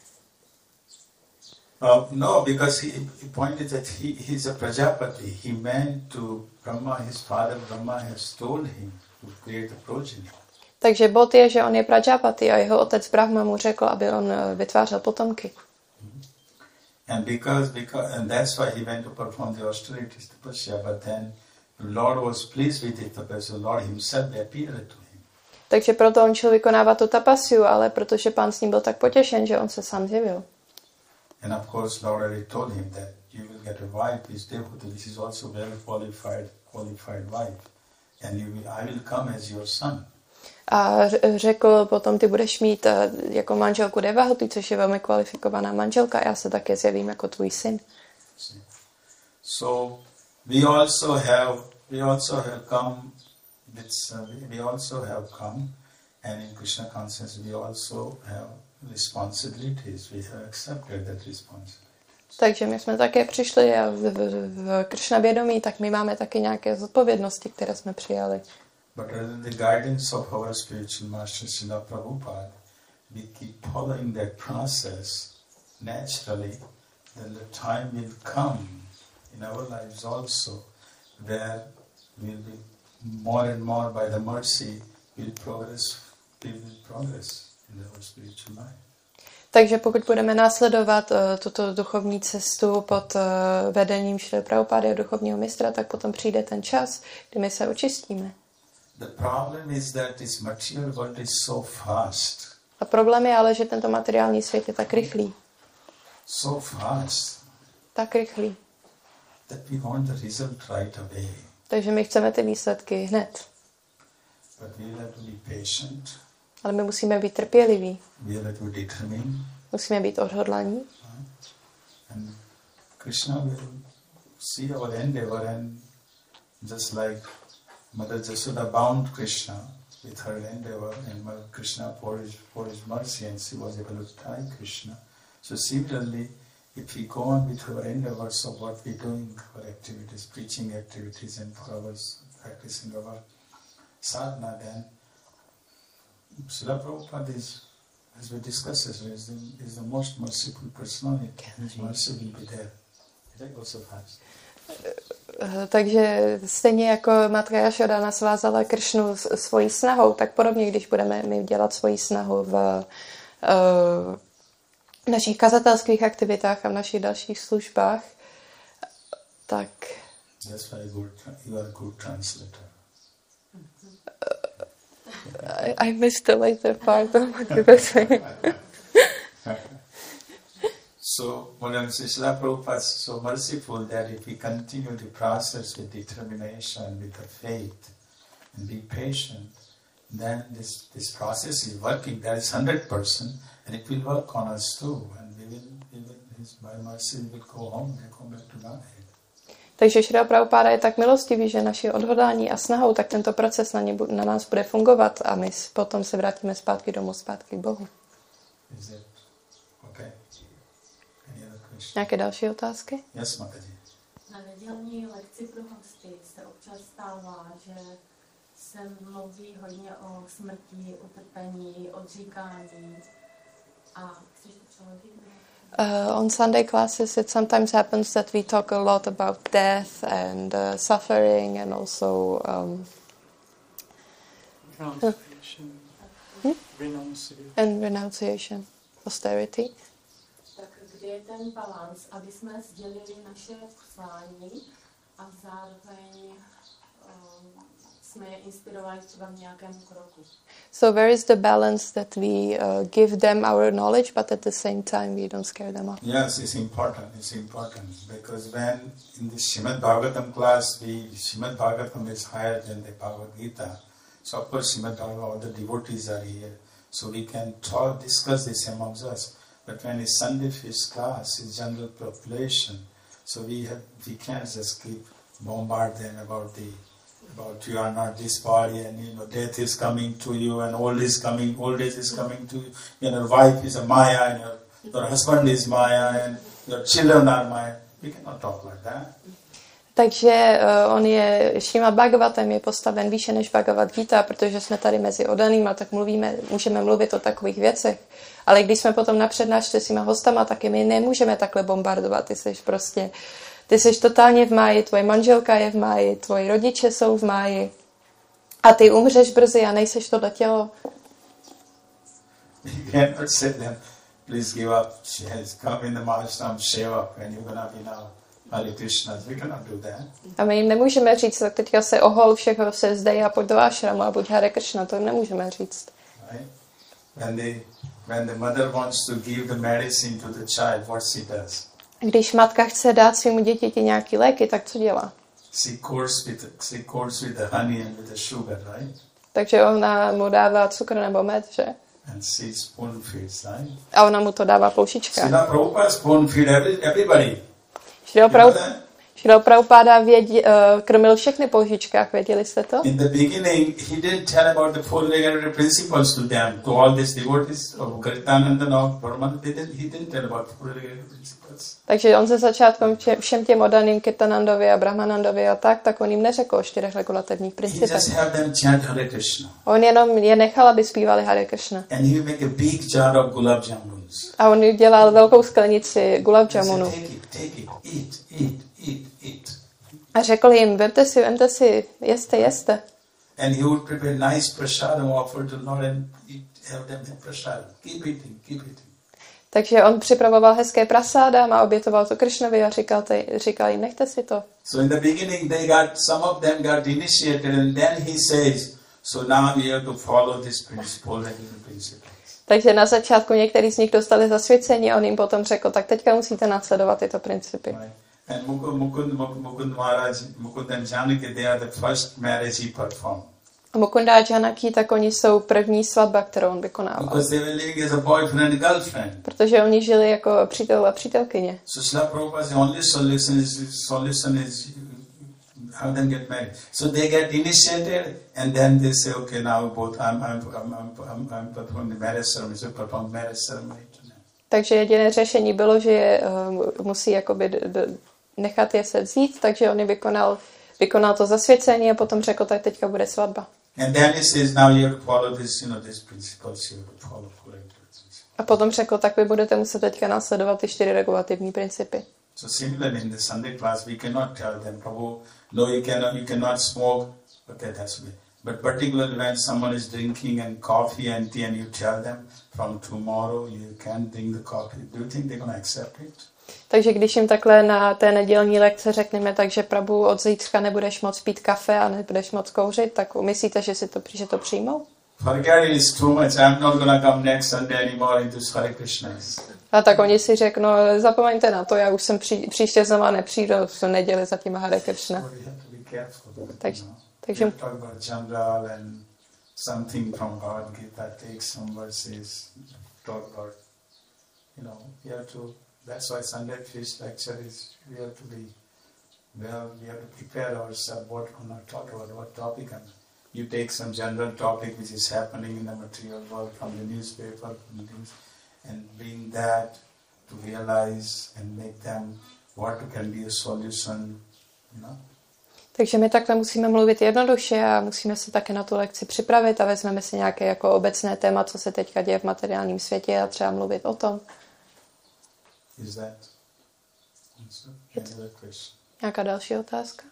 No, because he pointed that he's a Prajapati. He meant to Brahma, his father Brahma has told him to create a progeny. Takže bod je, že on je Prajapati a jeho otec Brahma mu řekl, aby on vytvářel potomky. And and that's why he went to perform the austerities tapasya, but then the Lord was pleased with the tapasya. The Lord himself appeared to him. Takže proto on šel vykonávat tu tapasiu, ale protože pán s ním byl tak potěšen, že on se sám zjevil. And of course, Lord already told him that you will get a wife, this Devhuti, which is also very qualified wife, and I will come as your son. A řekl potom, ty budeš mít jako manželku Devahuti, což je velmi kvalifikovaná manželka, a já se také zjevím jako tvůj syn. So we also have come and in Krishna consciousness we also have responsibilities. We have accepted that responsibility. Takže my jsme také přišli a v Kršna vědomí, tak my máme taky nějaké zodpovědnosti, které jsme přijali. But under the guidance of our spiritual master Srila Prabhupada, we keep following that process naturally, then the time will come in our lives also where we'll be more and more by the mercy will progress in our spiritual life. Takže pokud budeme následovat tuto duchovní cestu pod vedením Šrily Prabhupády a duchovního mistra, tak potom přijde ten čas, kdy my se očistíme. The problem is that this material world is so fast. A problém je ale, že tento materiální svět je tak rychlý. So fast. Tak rychlý. That we want the result right away. Takže my chceme ty výsledky hned. But we have to be patient. Ale my musíme být trpěliví. We have to be determined. Musíme být odhodlaní. And Krishna will see our endeavor and just like Mother Jasoda bound Krishna with her endeavor and Mother Krishna for his mercy and she was able to tie Krishna. So similarly, if we go on with our endeavors of what we're doing, our activities, preaching activities and for our practicing our sadhana, then Srila Prabhupada is, as we discussed, is the most merciful personality. His mercy will be there. That also fast. Takže stejně jako Matka Jašoda nasvázala Kršnu svojí snahou, tak podobně, když budeme my dělat svoji snahu v našich kazatelských aktivitách a v našich dalších službách, tak... That's why you are a good translator. I missed the later part of what you were saying. So, when Srila Prabhupada is so merciful that if we continue the process with determination, with the faith, and be patient, then this process is working. That is 100%, and it will work on us too. And by mercy, we will go home and come back to Godhead. Takže Šrila Prabhupáda je tak milostivý, že naše odhodlání a snahou, tak tento proces na nás bude fungovat a my potom se vrátíme zpátky domů, zpátky k Bohu. Okay. Nějaké další otázky? Yes, Mataji. Na nedělní lekci pro hosty se občas stává, že se mluví hodně o smrti, utrpení, odříkání a chceš to přeložit? On Sunday classes, it sometimes happens that we talk a lot about death and suffering and also renunciation, austerity. Tak kde je ten balans, aby jsme sdělili naše poslání a zároveň jsme je inspirovali třeba v nějakém kroku? So where is the balance that we give them our knowledge, but at the same time we don't scare them off? Yes, it's important. It's important because when in the Srimad Bhagavatam class, Srimad Bhagavatam is higher than the Bhagavad Gita. So of course, Srimad Bhagavatam, all the devotees are here, so we can discuss this amongst us. But when it's Sunday feast class, it's general population, so we can't just keep bombard them about you are not this body and death is coming to you and old age is coming to you. Your wife is a Maya and your husband is Maya and your children are Maya. We cannot talk like that. Takže on je, Šrímad Bhagavatam je postaven výše než Bhagavad Gita, protože jsme tady mezi odanýma, tak můžeme mluvit o takových věcech. Ale když jsme potom na přednášce s těma hostama, taky my nemůžeme takhle bombardovat. Ty jsi totálně v máji, tvoje manželka je v máji, tvoji rodiče jsou v máji a ty umřeš brzy a nejseš tohle tělo. You cannot say them, please give up. She has come in the Mahashram, shave up and you're gonna be now Hare Krishna. We cannot do that. A my jim nemůžeme říct, tak teďka se ohol, všechno se zdej a pojď do ashramu a buď Hare Krishna, to jim nemůžeme říct. Right? When the mother wants to give the medicine to the child, what she does? Když matka chce dát svému dítěti nějaký léky, tak co dělá? She course with the honey and with the sugar, right? Takže ona mu dává cukr nebo med, že? And she spoon feeds, right? A ona mu to dává po lžičkách. Srila Prabhupada spoon feed everybody. Šrila Prabhupáda krmil všechny po lžičkách, věděli jste to? In the beginning, he didn't tell about the four regulative principles to them, to all these devotees of Garitananda or Brahman. He didn't tell about four regulative principles. Takže on ze začátku všem těm oddaným Kirtanandovi a Brahmanandovi a tak on jim neřekl o 4 regulativních He principech. just had them chant Hare Krishna. On jenom je nechal, aby zpívali Hare Krishna. And he would make a big jar of gulab jamuns. A on dělal velkou sklenici gulab He said, jamunu. take it, eat. A řekl jim, vemte si, jeste. And he would prepare nice prasadam, offer to Lord and have them have prasadam. Keep eating. Takže on připravoval hezké prasáda a obětoval to Kršnovi a říkal jim, nechte si to. So in the beginning, some of them got initiated, and then he says, so now we have to follow this principle. Takže na začátku některý z nich dostali zasvěcení a on jim potom řekl, tak teďka musíte následovat tyto principy. And Mukund and Janaki, they are the first marriage he performed. A Mukunda a Janaki, tak oni jsou první svatba, kterou on vykonával. Because they were living as a boyfriend and girlfriend. Protože oni žili jako přítel a přítelkyně. So Srila Prabhupada's only solution is have them get married. So they get initiated, and then they say, okay, now both I'm performing the marriage ceremony. So perform marriage ceremony. Takže jediné řešení bylo, že je musí jakoby nechat je se vzít, takže on vykonal to zasvěcení a potom řekl, tak teďka bude svatba. And then he says, now you have to follow this, these principles, you have to follow. A potom řekl, tak vy budete muset teďka následovat ty 4 regulativní principy. So similarly in the Sunday class, we cannot tell them, Prabhu, no, you cannot smoke. Okay, that's good. But particularly when someone is drinking and coffee and tea, and you tell them from tomorrow you can't drink the coffee, do you think they're going to accept it? Takže když jim takhle na té nedělní lekce řekneme, takže Prabhu, od zítřka nebudeš moc pít kafe a nebudeš moc kouřit, tak myslíte, že to přijmou? Forget it, it's too much. I'm not going to come next Sunday anymore into Hare Krishna. A tak oni si řeknou, zapomeňte na to, já už jsem příště znova nepřijdu v neděli za tím Hare Krishna. Takže talk about Janral and something from Bhagavad Gita, take some verses, talk about, you have to, that's why Sunday Feast lecture is, we have to prepare ourselves what we're going to talk about, what topic, and you take some general topic which is happening in the material world from the newspaper and bring that to realize and make them what can be a solution, Takže my takhle musíme mluvit jednoduše a musíme se také na tu lekci připravit a vezmeme si nějaké jako obecné téma, co se teďka děje v materiálním světě a třeba mluvit o tom. Nějaká další otázka?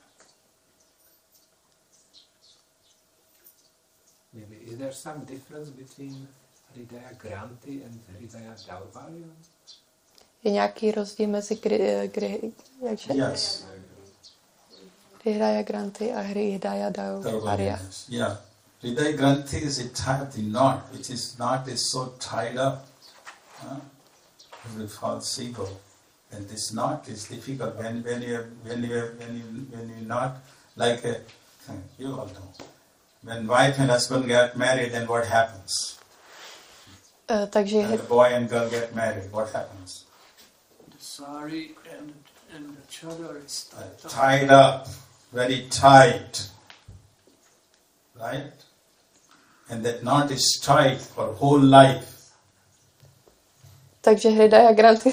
Maybe is there some difference between Hridaya Granthi and Hridaya Daurvalya? Je nějaký rozdíl mezi Yes. Hridaya Granthi a Hridaya Daurvalya? Yeah. Hridaya Granthi is a type of the knot, which is knot is so tied up, as a false seagull. And this knot is difficult when you knot like a, you all know. When wife and husband get married, then what happens? Takže when the boy and girl get married, what happens? The sari and the chadar is tied up, very tight, right? And that knot is tight for whole life. Takže Hridaya Granthi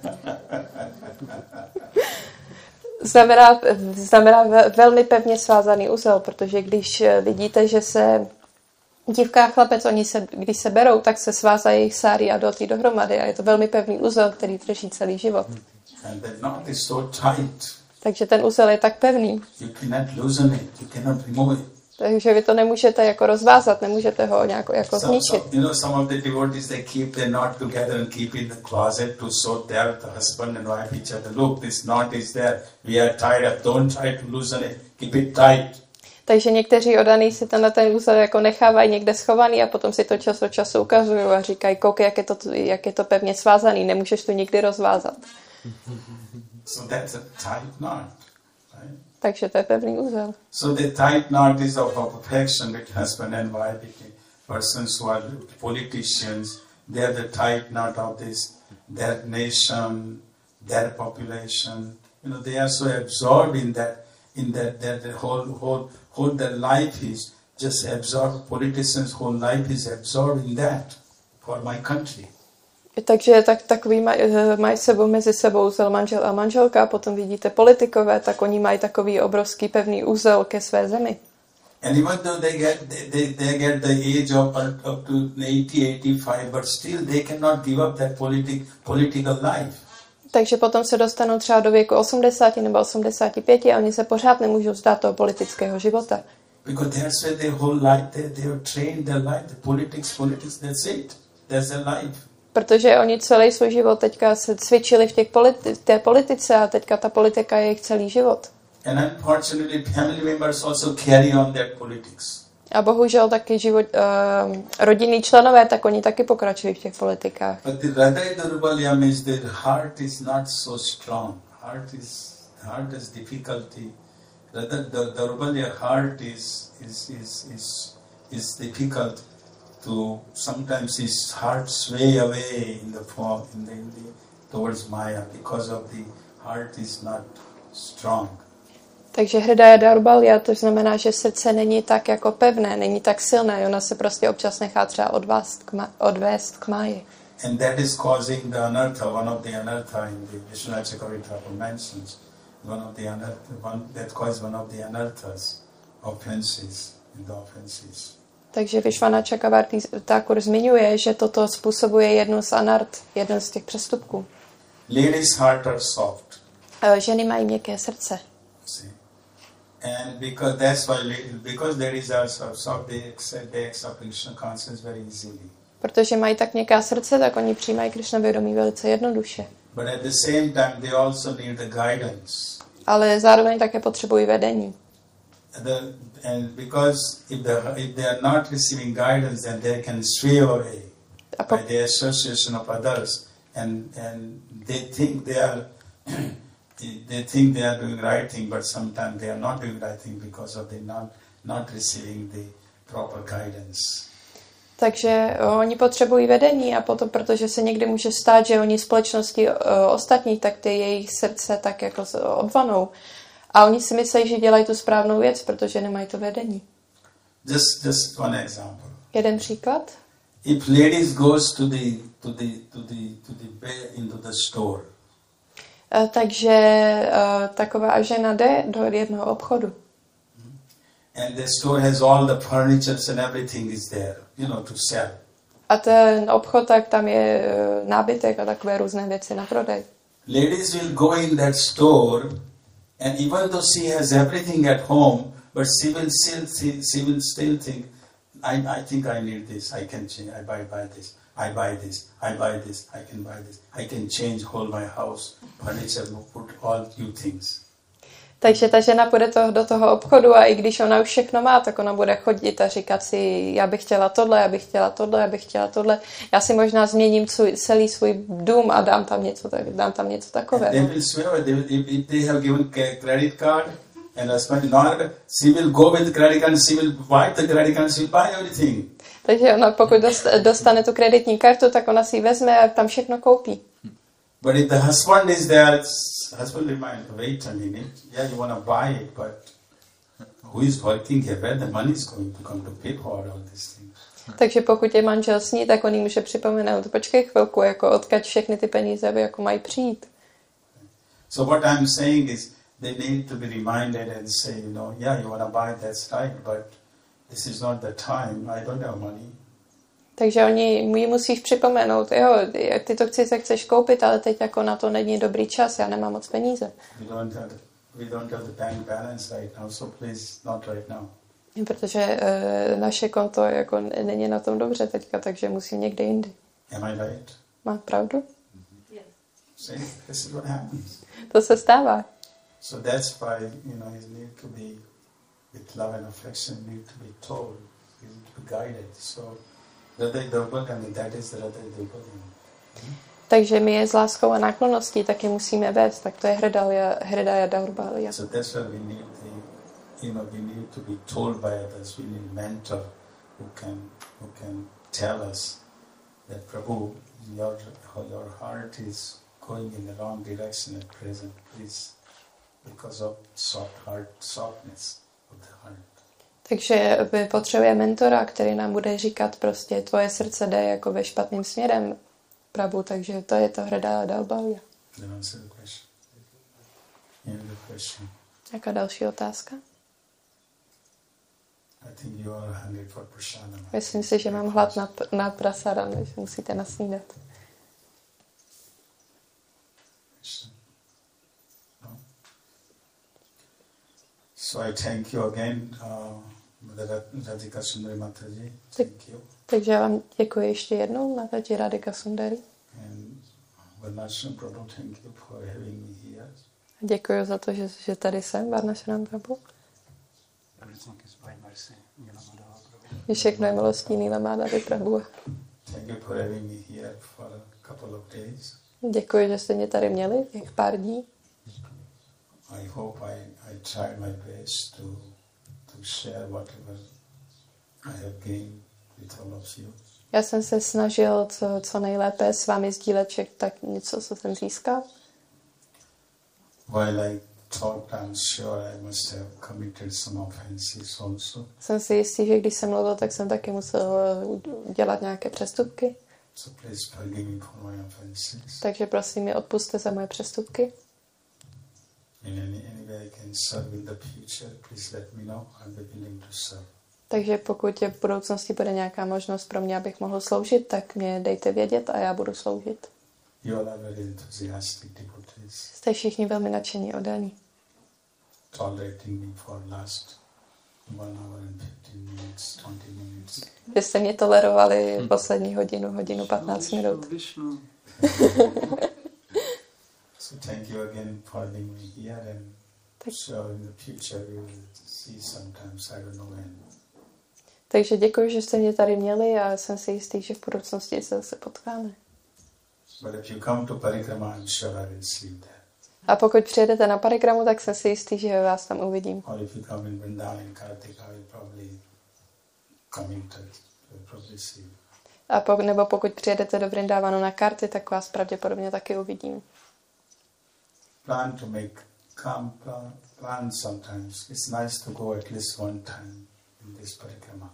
znamená velmi pevně svázaný uzel, protože když vidíte, že se dívka a chlapec, když se berou, tak se svázají jejich sáry a doty dohromady a je to velmi pevný uzel, který drží celý život. And that knot is so tight. Takže ten uzel je tak pevný. You cannot loosen it, you cannot remove it. Takže vy to nemůžete jako rozvázat, nemůžete ho nějak jako zničit. Some of the devotees, they keep the knot together and keep in the closet to show their husband and wife each other. Look, this knot is there. We are tied up. Don't try to loosen it. Keep it tight. Takže někteří oddaný si ten úzel jako nechávají někde schovaný a potom si to čas od času ukazují a říkají, koukej, jak je to pevně svázaný, nemůžeš to nikdy rozvázat. So that's a tight knot. Takže to je pevný úzel. So the tight knot is of affection between husband and wife, between persons who are politicians. They are the tight knot of this, their nation, their population, You know, they are so absorbed in that the whole their life is just absorbed. Politicians' whole life is absorbed in that for my country. Takže takový mají sebou mezi sebou úzel manžel a manželka, a potom vidíte politikové, tak oni mají takový obrovský pevný úzel ke své zemi. And even though they get the age of up to 80-85, but still they cannot give up that political life. Takže potom se dostanou třeba do věku 80 nebo 85 a oni se pořád nemůžou vzdát toho politického života. Because that's where their whole life, they have trained their life, the politics, that's it. That's their life. Protože oni celý svůj život teďka se cvičili v té politice a teďka ta politika je jejich celý život. And unfortunately, family members also carry on that politics. A bohužel taky rodinní členové, tak oni taky pokračují v těch politikách. But the Hridaya Daurbalya means the heart is not so strong. Heart is difficulty. Rather, the Daurbalya heart is difficult to sometimes his heart sway away in the form towards Maya because of the heart is not strong. Takže Hridaya Daurbalya, to znamená, že srdce není tak jako pevné, není tak silné, ona se prostě občas nechá třeba odvést k máji. And that is causing the anartha, one of the anartha in the Vishwanath Chakravarti mentions, that causes one of the anarthas, offenses, in the offenses. Takže Vishwanath Chakravarti Thakur zmiňuje, že toto způsobuje jednu z anart, jeden z těch přestupků. Ladies' heart are soft. Ženy mají měkké srdce. See? And because ladies are soft, they accept Krishna consciousness very easily. Protože mají tak měkká srdce, tak oni přijímají Krishna vědomí velice jednoduše. But at the same time, they also need the guidance. Ale zároveň také potřebují vedení. And because if they are not receiving guidance, then they can sway away by the association of others, and they think they are doing right thing, but sometimes they are not doing right thing because of they not receiving the proper guidance. Takže oni potřebují vedení a potom, protože se někdy může stát, že oni společnosti ostatních, tak ty jejich srdce tak jako odvanou. A oni si myslí, že dělají tu správnou věc, protože nemají to vedení. Just one example. Jeden příklad. If ladies goes into the store. Takže taková žena jde do jednoho obchodu. And the store has all the furnitures and everything is there, to sell. A ten obchod, tak tam je nábytek a takové různé věci na prodej. Ladies will go in that store, and even though she has everything at home, but she will still think, I think I need this, I can change, I buy this, I buy this, I buy this, I can buy this, I can change whole my house, furniture, put all new things. Takže ta žena půjde do toho obchodu a i když ona už všechno má, tak ona bude chodit a říkat si, já bych chtěla tohle, já bych chtěla tohle, já bych chtěla tohle. Já si možná změním celý svůj dům a dám tam něco takového. They will swear, if they have given credit card and husband not, she will go with the credit card, she will buy the credit card, she will buy everything. Takže ona pokud dostane tu kreditní kartu, tak ona si ji vezme a tam všechno koupí. But if the husband is there, husband remind, wait a minute, yeah, you want to buy it, but who is working here? Where the money is going to come to pay for all these things? Takže pokud je manžel s ní, tak on jí může připomenout, počkej chvilku, jako odkud všechny ty peníze jako mají přijít. So what I'm saying is, they need to be reminded and say, yeah, you want to buy, that's right, but this is not the time, I don't have money. Takže oni jí musíš připomenout, jo, ty to chceš koupit, ale teď jako na to není dobrý čas, já nemám moc peníze. We don't have the bank balance right now, so please not right now. Protože naše konto jako není na tom dobře teďka, takže musím někde jindy. Am I right? Má pravdu? Yes. See, this is what happens. To se stává. So that's why, you need to be, with love and affection, need to be told, you need to be guided. So Hridaya Daurbalya, that is the Hridaya Daurbalya. Takže my je s láskou a náklonností taky musíme vést, tak to je Hridaya Daurbalya. So that's why we need we need to be told by others. We need a mentor who can tell us that Prabhu, your heart is going in the wrong direction at present. Please because of softness of the heart. Takže my potřebujeme mentora, který nám bude říkat prostě tvoje srdce jde jako ve špatným směrem, Prabhu, takže to je to hrdá dalbavia. Jaká další otázka? Myslím si, že mám hlad na prasadam, takže musíte nasnídat. So I thank you again, Radhika Sundari Mataji. Thank you. Takže já vám děkuji ještě jednou, Mataji Radhika Sundari. And Varnashram Prabhu, thank you for having me here. Děkuji za to, že tady jsem, Varnashram Prabhu. Že všechno je milostí Nila Madhava Prabhu. Thank you for having me here for a couple of days. Děkuji, že jste mě tady měli těch pár dní. I hope I tried my best to share whatever I have gained with all of you. Já jsem se snažil co nejlépe s vámi sdílet tak něco, co jsem získal. While I thought I'm sure I must have committed some offenses also. Jsem si jistý, že když jsem mluvil, tak jsem taky musel dělat nějaké přestupky. So please forgive me for my offenses. Takže prosím mě odpusťte za moje přestupky. In any way I can serve in the future, please let me know. I'll be willing to serve. Takže pokud v budoucnosti bude nějaká možnost pro mě, abych mohl sloužit, tak mě dejte vědět a já budu sloužit. You all are very enthusiastic devotees. Jste všichni velmi nadšení oddaní. Tolerating me for last 1 hour and 15 minutes, 20 minutes. Vy jste mě tolerovali poslední hodinu 15 minut. So thank you again for having me here, and so in the future you will see sometimes, I don't know when. Takže děkuji, že jste mě tady měli a jsem si jistý, že v budoucnosti se zase potkáme. But if you come to Parikrama, I'm sure I will see you there. A pokud přijedete na Parikramu, tak jsem si jistý, že vás tam uvidím. Or if you come in Vrindavan, Kartika, I will probably come in touch. I will probably see you. A nebo pokud přijedete do Vrindavanu na karty, tak vás pravděpodobně taky uvidím. Plan to make plan sometimes. It's nice to go at least one time in this Parikrama.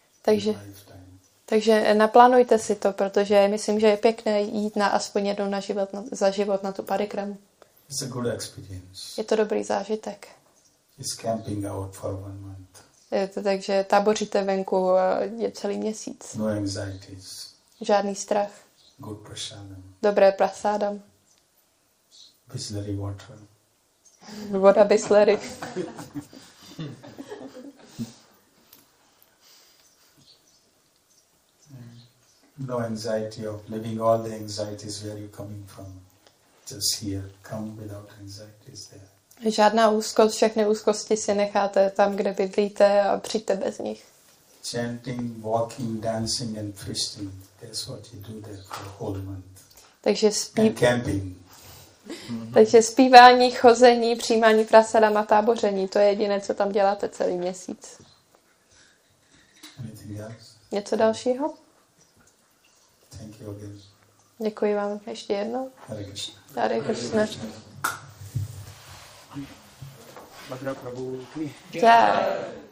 Takže naplánujte si to, protože myslím, že je pěkné jít aspoň jednou za život na tu Parikramu. It's a good experience. Je to dobrý zážitek. It's camping out for 1 month. Takže táboříte venku je celý měsíc. No anxieties. Žádný strach. Good prasadam. Dobré prasádam. Bisleri water. Voda Bisleri. No anxiety of living all the anxieties where you're coming from. Just here. Come without anxieties there. Žádná úzkost, všechny úzkosti si necháte tam, kde bydlíte a přijďte bez nich. Chanting, walking, dancing and feasting. That's what you do there for a whole month. And camping. Takže zpívání, chození, přijímání prasadam a táboření, to je jediné, co tam děláte celý měsíc. Anything else? Něco dalšího? Thank you again. Děkuji vám ještě jednou. Hare Krishna. Hare Krishna. Bhadra Prabhu. Jai.